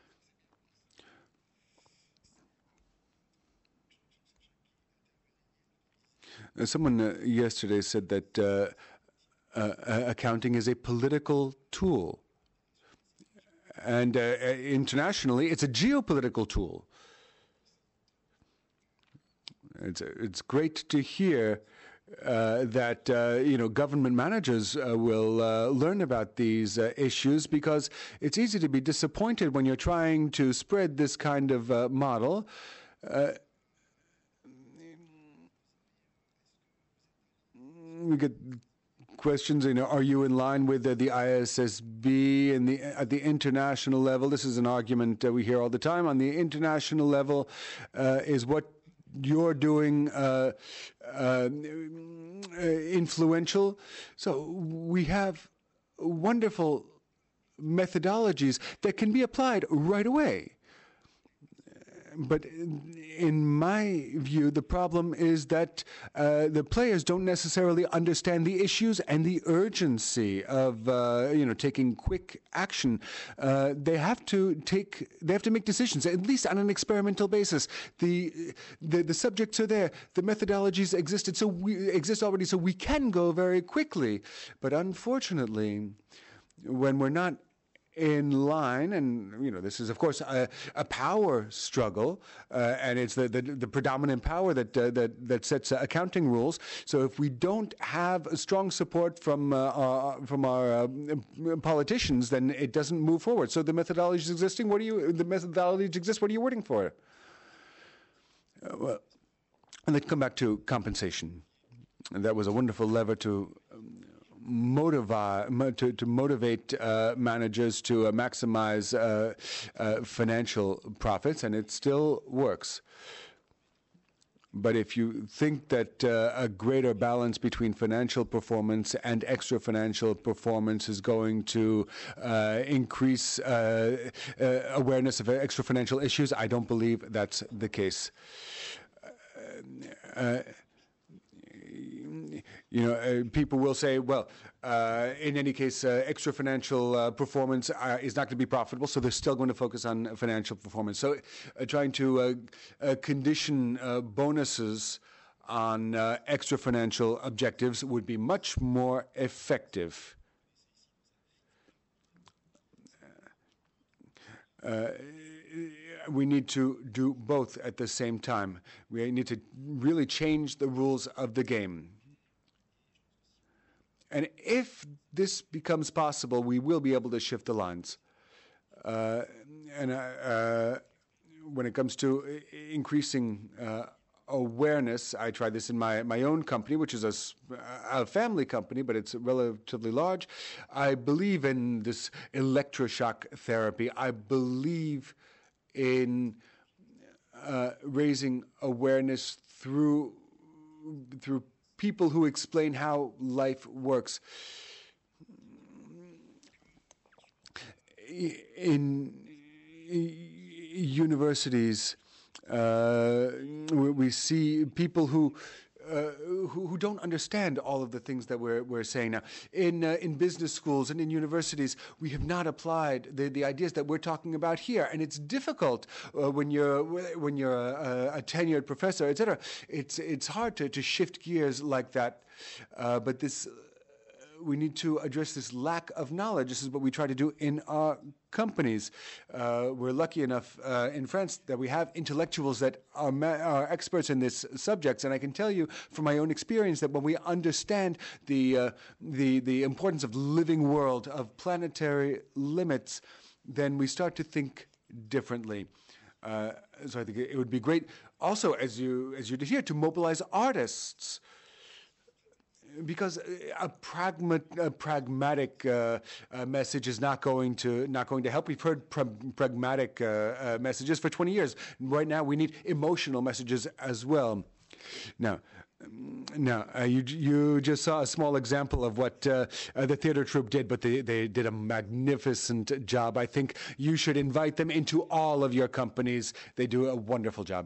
S2: Uh, someone uh, yesterday said that Uh, Uh, uh, accounting is a political tool. And uh, internationally, it's a geopolitical tool. It's, it's great to hear uh, that uh, you know government managers uh, will uh, learn about these uh, issues, because it's easy to be disappointed when you're trying to spread this kind of uh, model. Uh, we get questions, you know, are you in line with uh, the I S S B and the at the international level? This is an argument uh, we hear all the time. On the international level, uh, is what you're doing uh, uh, influential? So we have wonderful methodologies that can be applied right away. But in my view, the problem is that uh, the players don't necessarily understand the issues and the urgency of uh, you know taking quick action. Uh, they have to take, they have to make decisions, at least on an experimental basis. The the, the subjects are there, the methodologies existed, so we exist already, so we can go very quickly. But unfortunately, when we're not in line, and you know this is of course a, a power struggle, uh, and it's the, the the predominant power that uh, that that sets uh, accounting rules. So if we don't have a strong support from uh, our, from our uh, politicians, then it doesn't move forward. So the methodology is existing. What are you? The methodology exists. What are you waiting for? Uh, well, and then come back to compensation. And that was a wonderful lever to. Um, Motivate, to, to motivate uh, managers to uh, maximize uh, uh, financial profits, and it still works. But if you think that uh, a greater balance between financial performance and extra financial performance is going to uh, increase uh, uh, awareness of extra financial issues, I don't believe that's the case. Uh, uh, You know, uh, people will say, well, uh, in any case, uh, extra financial uh, performance uh, is not going to be profitable, so they're still going to focus on financial performance. So uh, trying to uh, uh, condition uh, bonuses on uh, extra financial objectives would be much more effective. Uh, we need to do both at the same time. We need to really change the rules of the game. And if this becomes possible, we will be able to shift the lines. Uh, and uh, uh, when it comes to increasing uh, awareness, I tried this in my, my own company, which is a, a family company, but it's relatively large. I believe in this electroshock therapy. I believe in uh, raising awareness through through people who explain how life works. In universities, uh, we see people who Uh, who, who don't understand all of the things that we're we're saying now. In uh, in business schools and in universities, we have not applied the, the ideas that we're talking about here, and it's difficult uh, when you're when you're a, a tenured professor, et cetera. It's it's hard to, to shift gears like that, uh, but this. We need to address this lack of knowledge. This is what we try to do in our companies. Uh, we're lucky enough uh, in France that we have intellectuals that are, ma- are experts in this subject. And I can tell you from my own experience that when we understand the, uh, the, the importance of the living world, of planetary limits, then we start to think differently. Uh, so I think it would be great also, as you, as you did here, to mobilize artists. Because a, pragma, a pragmatic uh, uh, message is not going to not going to help. We've heard pra- pragmatic uh, uh, messages for twenty years. Right now, we need emotional messages as well. Now, now uh, you you just saw a small example of what uh, uh, the theater troupe did, but they, they did a magnificent job. I think you should invite them into all of your companies. They do a wonderful job.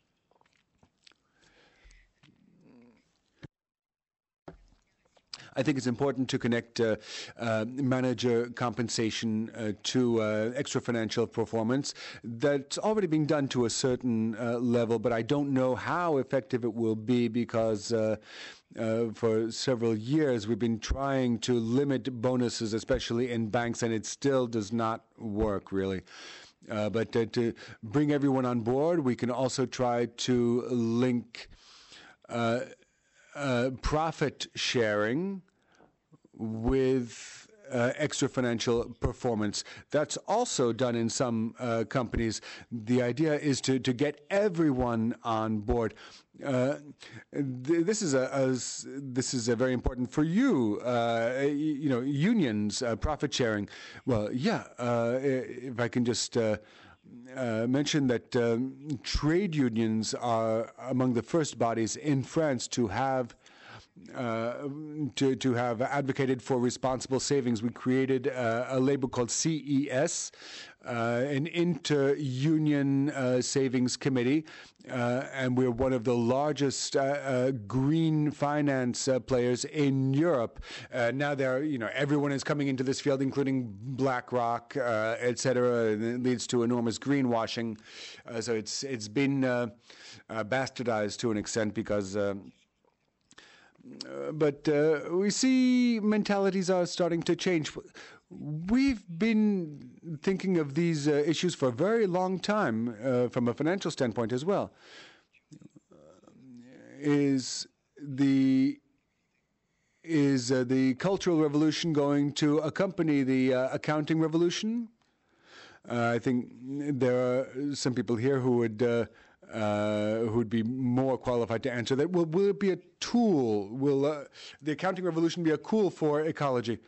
S2: I think it's important to connect uh, uh, manager compensation uh, to uh, extra financial performance. That's already being done to a certain uh, level, but I don't know how effective it will be because uh, uh, for several years we've been trying to limit bonuses, especially in banks, and it still does not work really. Uh, but uh, to bring everyone on board, we can also try to link uh, uh, profit sharing with Uh, extra financial performance. That's also done in some uh, companies. The idea is to, to get everyone on board. Uh, th- this is a, a this is a very important for you. Uh, you know, unions, uh, profit sharing. Well, yeah. Uh, if I can just. Uh, Uh, mention that um, trade unions are among the first bodies in France to have uh, to to have advocated for responsible savings. We created uh, a label called C E S, uh, an inter-union uh, savings committee, uh, and we're one of the largest uh, uh, green finance uh, players in Europe. Uh, now, there, you know, everyone is coming into this field, including BlackRock, uh, et cetera. And it leads to enormous greenwashing. Uh, so it's it's been uh, uh, bastardized to an extent because. Uh, Uh, but uh, we see mentalities are starting to change. We've been thinking of these uh, issues for a very long time uh, from a financial standpoint as well. Is the is uh, the Cultural Revolution going to accompany the uh, accounting revolution? Uh, I think there are some people here who would uh, uh, who would be more qualified to answer that. Will, will it be a tool? Will uh, the accounting revolution be a tool for ecology?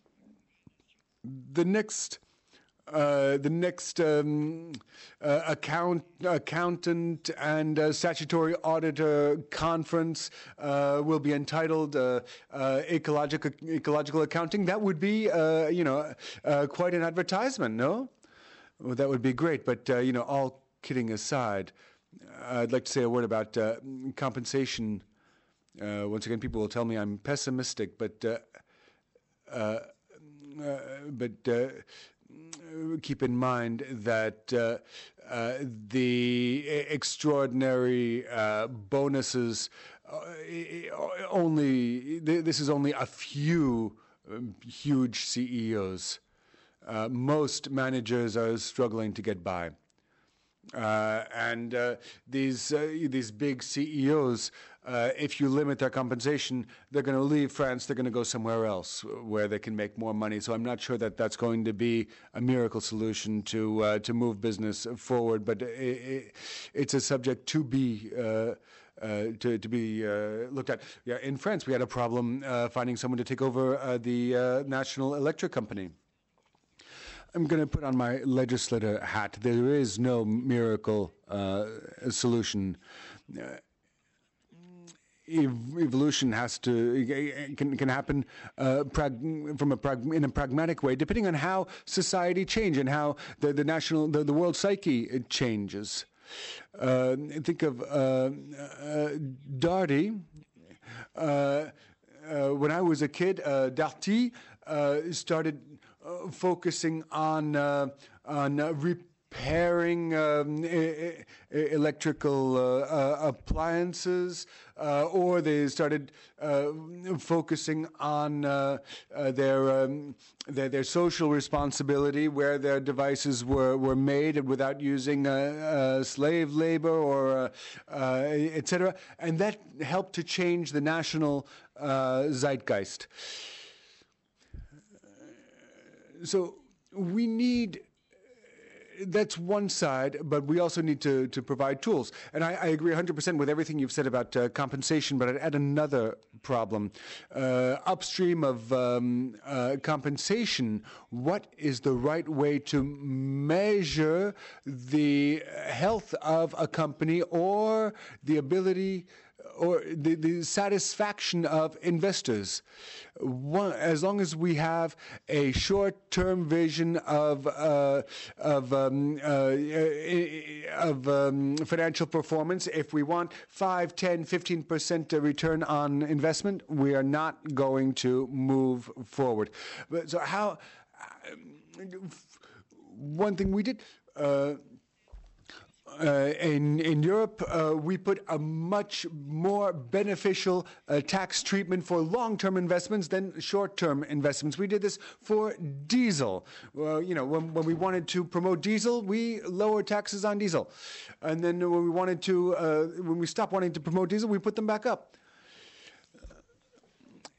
S2: The next, uh, the next um, uh, account, accountant and uh, statutory auditor conference uh, will be entitled uh, uh, ecological ecological accounting. That would be, uh, you know, uh, quite an advertisement, no? Well, that would be great. But uh, you know, all kidding aside, I'd like to say a word about uh, compensation. Uh, once again, people will tell me I'm pessimistic, but. Uh, uh, Uh, but uh, keep in mind that uh, uh, the extraordinary uh, bonuses uh, only, this is only a few um, huge C E Os. Uh, most managers are struggling to get by. Uh, and uh, these uh, these big C E Os, uh, if you limit their compensation, they're going to leave France. They're going to go somewhere else where they can make more money. So I'm not sure that that's going to be a miracle solution to uh, to move business forward. But it, it, it's a subject to be. Uh, Uh, to, to be uh, looked at. Yeah, in France, we had a problem uh, finding someone to take over uh, the uh, National Electric Company. I'm going to put on my legislator hat. There is no miracle uh, solution. Uh, ev- evolution has to can can happen uh, prag- from a prag- in a pragmatic way, depending on how society changes and how the the national the, the world psyche changes. Uh, think of uh, uh, Darty. Uh, uh, when I was a kid, uh, Darty uh, started uh, focusing on uh, on uh, repairing um, e- e- electrical uh, uh, appliances, uh, or they started uh, focusing on uh, uh, their, um, their their social responsibility, where their devices were, were made without using uh, uh, slave labor or uh, uh, et cetera, and that helped to change the national uh, zeitgeist. So we need. That's one side, but we also need to, to provide tools. And I, I agree one hundred percent with everything you've said about uh, compensation, but I'd add another problem. Uh, upstream of um, uh, compensation, what is the right way to measure the health of a company or the ability or the, the satisfaction of investors? One, as long as we have a short-term vision of uh, of um, uh, of um, financial performance, if we want five, ten, fifteen percent return on investment, we are not going to move forward. But so how? One thing we did. Uh, Uh, in in Europe, uh, we put a much more beneficial uh, tax treatment for long-term investments than short-term investments. We did this for diesel. Well, you know, when, when we wanted to promote diesel, we lowered taxes on diesel, and then when we wanted to, uh, when we stopped wanting to promote diesel, we put them back up.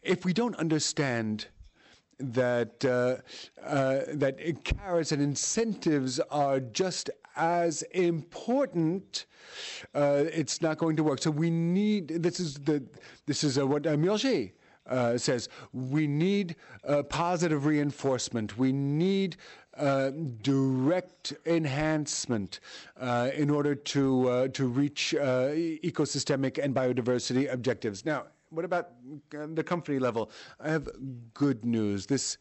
S2: if we don't understand that uh, uh, that carrots and incentives are just as important, uh, it's not going to work. So we need, this is the this is uh, what uh, Murger uh, says, we need uh, positive reinforcement. We need uh, direct enhancement uh, in order to uh, to reach uh, ecosystemic and biodiversity objectives. Now, what about the company level? I have good news. This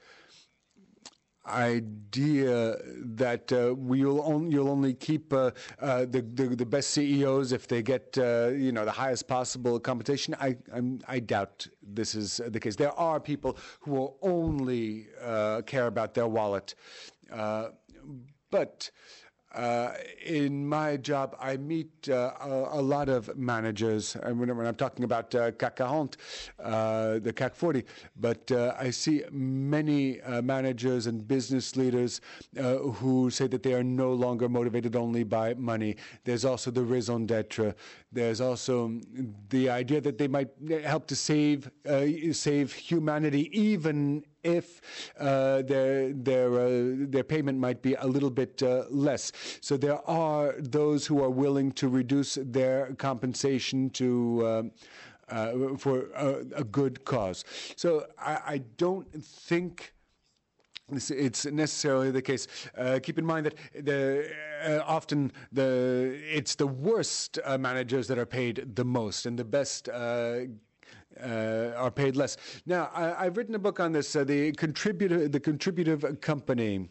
S2: idea that uh, we'll only, you'll only keep uh, uh, the, the the best C E Os if they get uh, you know the highest possible compensation. I I'm, I doubt this is the case. There are people who will only uh, care about their wallet, uh, but. Uh, in my job, I meet uh, a, a lot of managers, and when, when I'm talking about uh, C A C forty, uh, the C A C forty, but uh, I see many uh, managers and business leaders uh, who say that they are no longer motivated only by money. There's also the raison d'être. There's also the idea that they might help to save uh, save humanity, even if uh, their their uh, their payment might be a little bit uh, less. So there are those who are willing to reduce their compensation to um, uh, for a, a good cause. So I, I don't think it's necessarily the case. Uh, keep in mind that the, uh, often the it's the worst uh, managers that are paid the most, and the best uh, uh, are paid less. Now, I, I've written a book on this, uh, the contributor, the contributive company.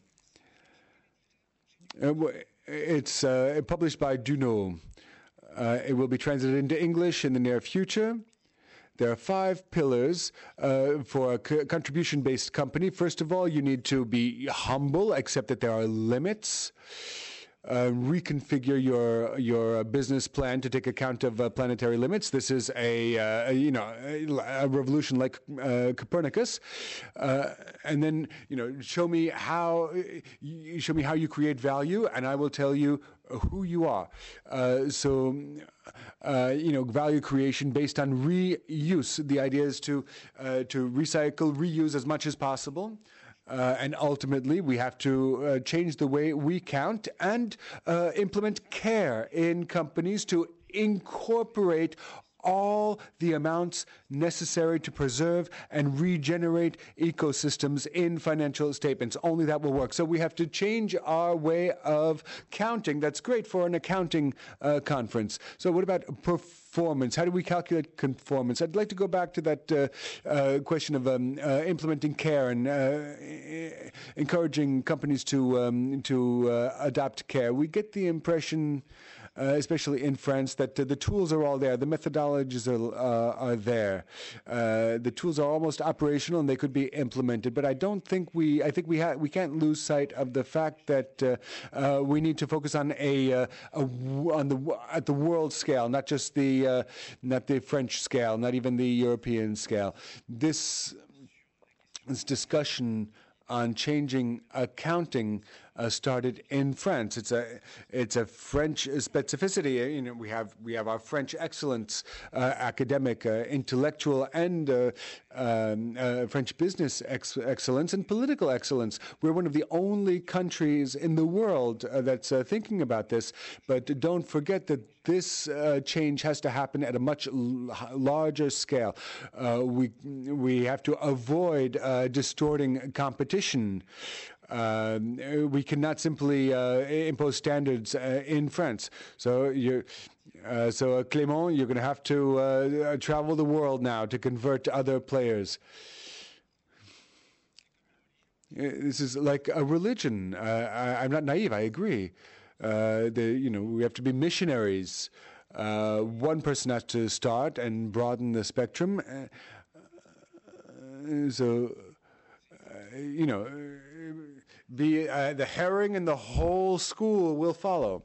S2: Uh, it's uh, published by Duno. Uh, it will be translated into English in the near future. There are five pillars uh, for a co- contribution-based company. First of all, you need to be humble, accept that there are limits. Uh, reconfigure your your business plan to take account of uh, planetary limits. This is a, uh, a you know a, a revolution like uh, Copernicus, uh, and then you know show me how you show me how you create value, and I will tell you who you are. Uh, so. Uh, you know, value creation based on reuse. The idea is to uh, to recycle, reuse as much as possible. Uh, and ultimately, we have to uh, change the way we count and uh, implement care in companies to incorporate all the amounts necessary to preserve and regenerate ecosystems in financial statements. Only that will work. So we have to change our way of counting. That's great for an accounting uh, conference. So what about performance? How do we calculate conformance? I'd like to go back to that uh, uh, question of um, uh, implementing care and uh, encouraging companies to um, to uh, adopt care. We get the impression, Uh, especially in France, that uh, the tools are all there, the methodologies are, uh, are there. Uh, the tools are almost operational and they could be implemented. But I don't think we, I think we ha- we can't lose sight of the fact that uh, uh, we need to focus on a, uh, a w- on the at the world scale, not just the uh, not the French scale, not even the European scale. This this discussion on changing accounting uh, started in France. It's a it's a French specificity. You know, we have we have our French excellence, uh, academic, uh, intellectual, and uh, um, uh, French business ex- excellence and political excellence. We're one of the only countries in the world uh, that's uh, thinking about this. But don't forget that this uh, change has to happen at a much l- larger scale. Uh, we we have to avoid uh, distorting competition. Uh, we cannot simply uh, impose standards uh, in France. So you, uh, so uh, Clément, you're going to have to uh, travel the world now to convert other players. This is like a religion. Uh, I, I'm not naive. I agree. Uh, the, you know, we have to be missionaries. Uh, one person has to start and broaden the spectrum. Uh, so, uh, you know, the uh, the herring and the whole school will follow.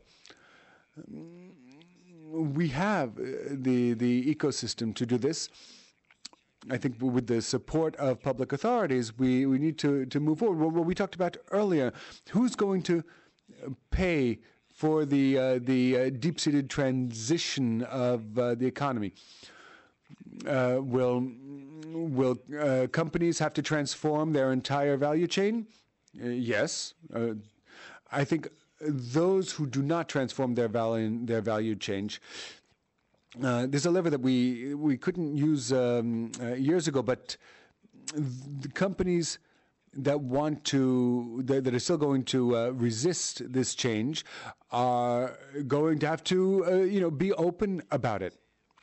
S2: We have the the ecosystem to do this. I think with the support of public authorities, we, we need to, to move forward. What we talked about earlier, who's going to pay for the uh, the uh, deep-seated transition of uh, the economy? Uh, will will uh, companies have to transform their entire value chain? Uh, yes. Uh, I think those who do not transform their value their value chain. Uh, there's a lever that we we couldn't use um, uh, years ago, but the companies that want to that, that are still going to uh, resist this change are going to have to uh, you know be open about it.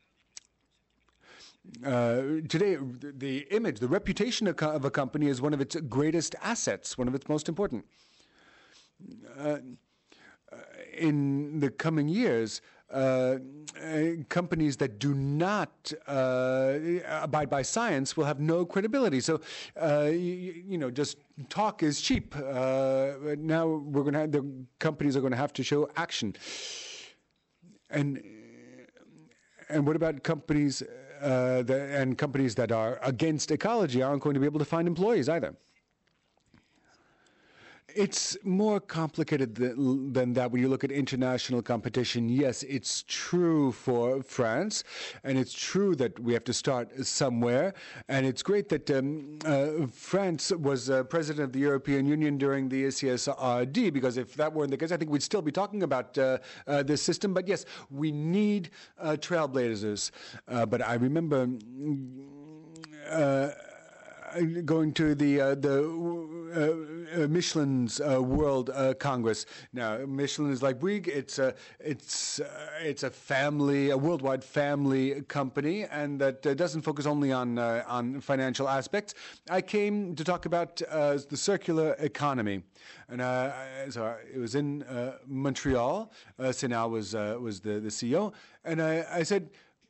S2: Uh, today, the image, the reputation of, of a company is one of its greatest assets, one of its most important. Uh, in the coming years, uh, uh, companies that do not uh, abide by science will have no credibility. So, uh, you, you know, just talk is cheap. Uh, now we're going to have, the companies are going to have to show action. And and what about companies? Uh, the, and companies that are against ecology aren't going to be able to find employees either. It's more complicated than, than that when you look at international competition. Yes, it's true for France, and it's true that we have to start somewhere. And it's great that um, uh, France was uh, president of the European Union during the C S R D, because if that weren't the case, I think we'd still be talking about uh, uh, this system. But yes, we need uh, trailblazers. Uh, but I remember Uh, going to the uh, the uh, uh, Michelin's uh, World uh, Congress. Now, Michelin is like Bouygues. It's a it's uh, it's a family, a worldwide family company, and that uh, doesn't focus only on uh, on financial aspects. I came to talk about uh, the circular economy, and uh, so it was in uh, Montreal. Uh, Senal was uh, was the the C E O, and I, I said,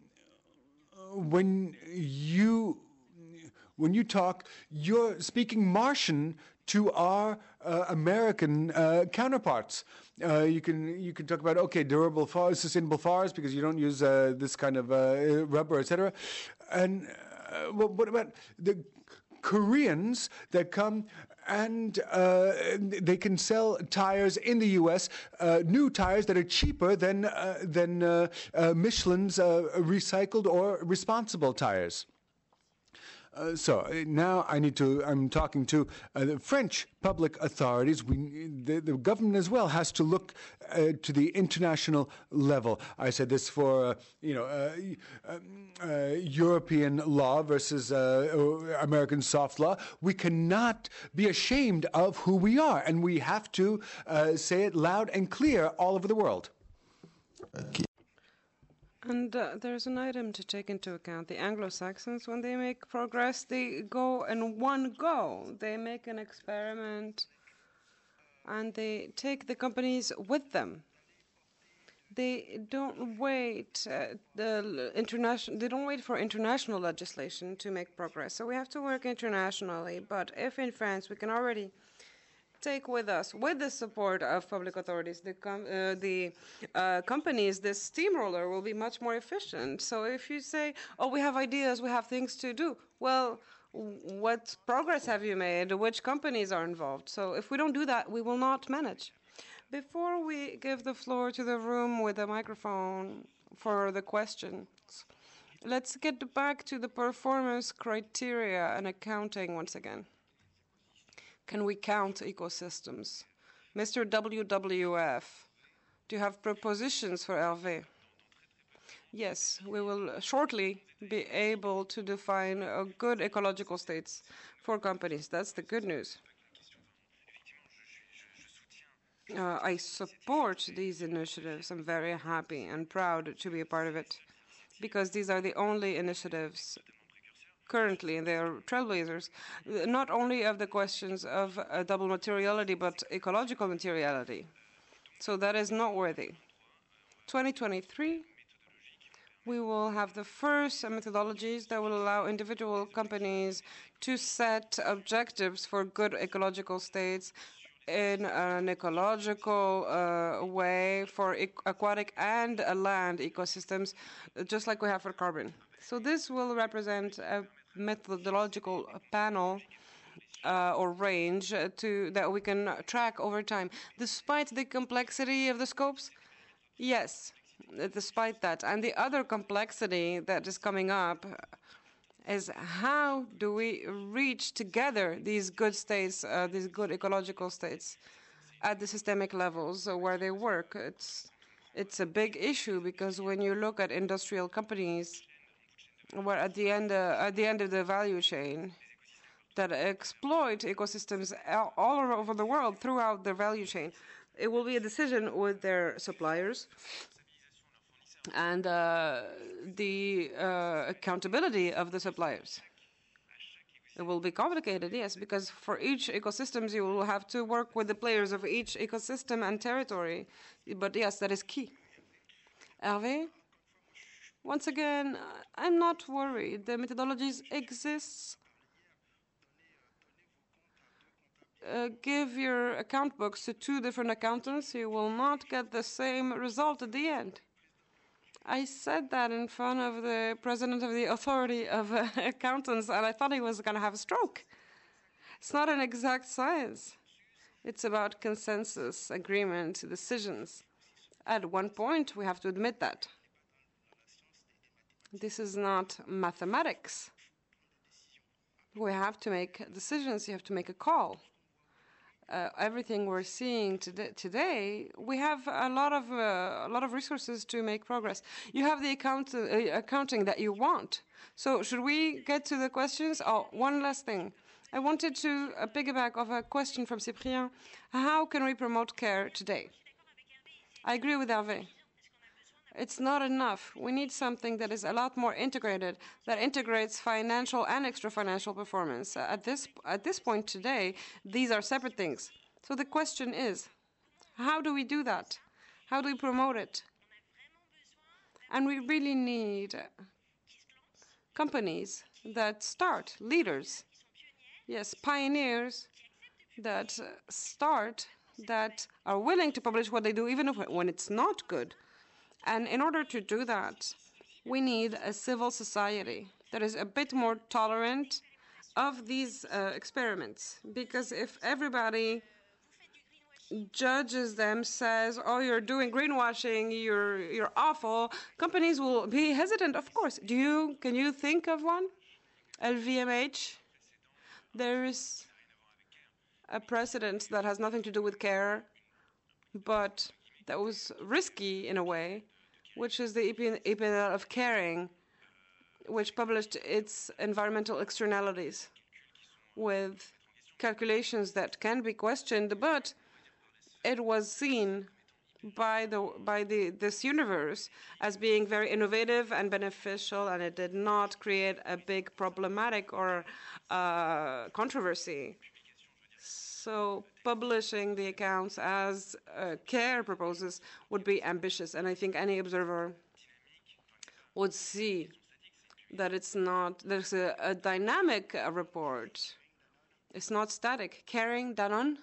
S2: when you When you talk, you're speaking Martian to our uh, American uh, counterparts. Uh, you can you can talk about okay, durable forests, sustainable forests, because you don't use uh, this kind of uh, rubber, et cetera. And uh, well, what about the Koreans that come and uh, they can sell tires in the U S, uh, new tires that are cheaper than uh, than uh, uh, Michelin's uh, recycled or responsible tires. Uh, so uh, now I need to. I'm talking to uh, the French public authorities. We, the, the government as well, has to look uh, to the international level. I said this for uh, you know uh, uh, European law versus uh, American soft law. We cannot be ashamed of who we are, and we have to uh, say it loud and clear all over the world.
S3: Okay.
S1: And uh, there's an item to take into account. The Anglo-Saxons, when they make progress, they go in one go. They make an experiment, and they take the companies with them. They don't wait. Uh, the international. They don't wait for international legislation to make progress. So we have to work internationally. But if in France we can already take with us, with the support of public authorities, the com uh, the uh, companies, this steamroller will be much more efficient. So if you say, oh, we have ideas, we have things to do, well, what progress have you made? Which companies are involved? So if we don't do that, we will not manage. Before we give the floor to the room with a microphone for the questions, let's get back to the performance criteria and accounting once again. Can we count ecosystems? Mister W W F, do you have propositions for Hervé? Yes, we will shortly be able to define a good ecological states for companies. That's the good news. Uh, I support these initiatives. I'm very happy and proud to be a part of it, because these are the only initiatives currently, and they are trailblazers, not only of the questions of uh, double materiality, but ecological materiality. So that is noteworthy. twenty twenty-three, we will have the first methodologies that will allow individual companies to set objectives for good ecological states in an ecological uh, way for e aquatic and uh, land ecosystems, just like we have for carbon. So this will represent a methodological panel uh, or range uh, to that we can track over time. Despite the complexity of the scopes, yes, despite that. And the other complexity that is coming up is how do we reach together these good states, uh, these good ecological states at the systemic levels where they work. It's, it's a big issue because when you look at industrial companies, where at the end, uh, at the end of the value chain, that exploit ecosystems all over the world throughout their value chain, it will be a decision with their suppliers and uh, the uh, accountability of the suppliers. It will be complicated, yes, because for each ecosystems you will have to work with the players of each ecosystem and territory. But yes, that is key. Hervé? Once again, I'm not worried. The methodologies exist. Uh, give your account books to two different accountants, you will not get the same result at the end. I said that in front of the president of the authority of uh, accountants, and I thought he was going to have a stroke. It's not an exact science. It's about consensus, agreement, decisions. At one point, we have to admit that. This is not mathematics. We have to make decisions. You have to make a call. Uh, everything we're seeing today, today, we have a lot of uh, a lot of resources to make progress. You have the account, uh, accounting that you want. So should we get to the questions? Oh, one last thing. I wanted to uh, piggyback off a question from Cyprien. How can we promote care today? I agree with Hervé. It's not enough. We need something that is a lot more integrated, that integrates financial and extra-financial performance. Uh, at this at this point today, these are separate things. So the question is, how do we do that? How do we promote it? And we really need companies that start, leaders, yes, pioneers that start, that are willing to publish what they do, even if, when it's not good. And in order to do that, we need a civil society that is a bit more tolerant of these uh, experiments. Because if everybody judges them, says, oh, you're doing greenwashing, you're, you're awful, companies will be hesitant, of course. Do you, can you think of one? L V M H? There is a precedent that has nothing to do with care, but that was risky in a way, which is the E P N L of Caring, which published its environmental externalities with calculations that can be questioned, but it was seen by the by the this universe as being very innovative and beneficial, and it did not create a big problematic or uh, controversy. So publishing the accounts as uh, care proposes would be ambitious, and I think any observer would see that it's not, there's a, a dynamic uh, report. It's not static. Caring, Danone?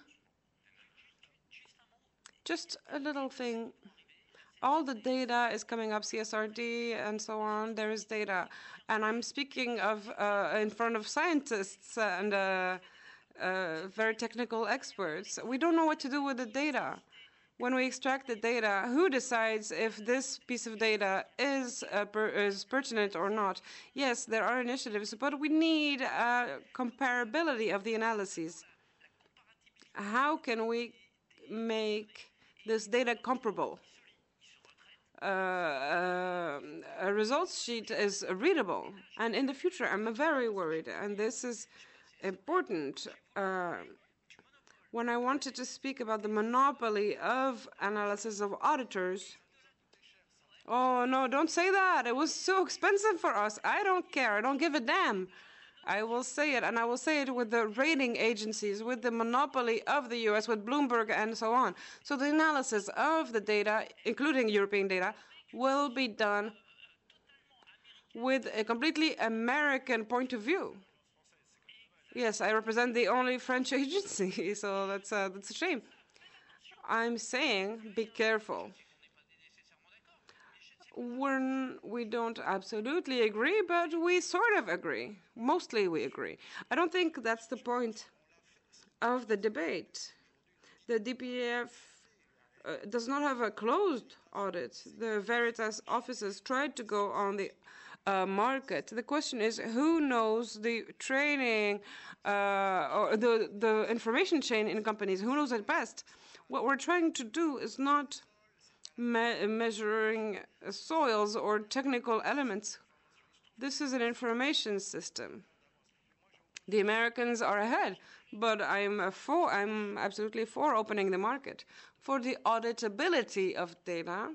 S1: Just a little thing. All the data is coming up, C S R D and so on. There is data. And I'm speaking of uh, in front of scientists and uh, Uh, very technical experts. We don't know what to do with the data. When we extract the data, who decides if this piece of data is, uh, per is pertinent or not? Yes, there are initiatives, but we need uh, comparability of the analyses. How can we make this data comparable? Uh, uh, a results sheet is readable, and in the future, I'm very worried, and this is important. Uh, when I wanted to speak about the monopoly of analysis of auditors, oh no, don't say that. It was so expensive for us. I don't care. I don't give a damn. I will say it, and I will say it with the rating agencies, with the monopoly of the U S, with Bloomberg and so on. So the analysis of the data, including European data, will be done with a completely American point of view. Yes, I represent the only French agency, so that's a, that's a shame. I'm saying be careful. We're, we don't absolutely agree, but we sort of agree. Mostly we agree. I don't think that's the point of the debate. The D P F uh, does not have a closed audit. The Veritas offices tried to go on the uh, market. The question is, who knows the training uh, or the, the information chain in companies? Who knows it best? What we're trying to do is not me measuring soils or technical elements. This is an information system. The Americans are ahead, but I'm for, I'm absolutely for opening the market. For the auditability of data,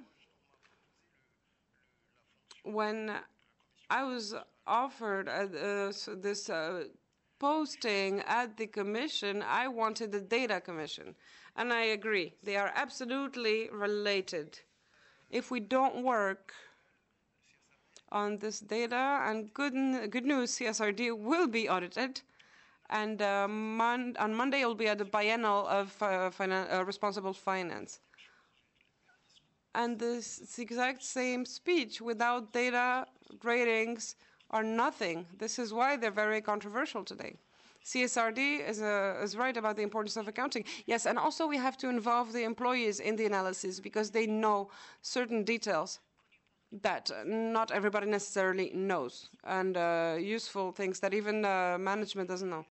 S1: when I was offered uh, so this uh, posting at the commission, I wanted the data commission. And I agree, they are absolutely related. If we don't work on this data, and good, good news, C S R D will be audited. And uh, mon on Monday, it will be at the biennial of uh, finan uh, responsible finance. And this is the exact same speech. Without data, ratings are nothing. This is why they're very controversial today. C S R D is, uh, is right about the importance of accounting. Yes, and also we have to involve the employees in the analysis because they know certain details that not everybody necessarily knows, and uh, useful things that even uh, management doesn't know.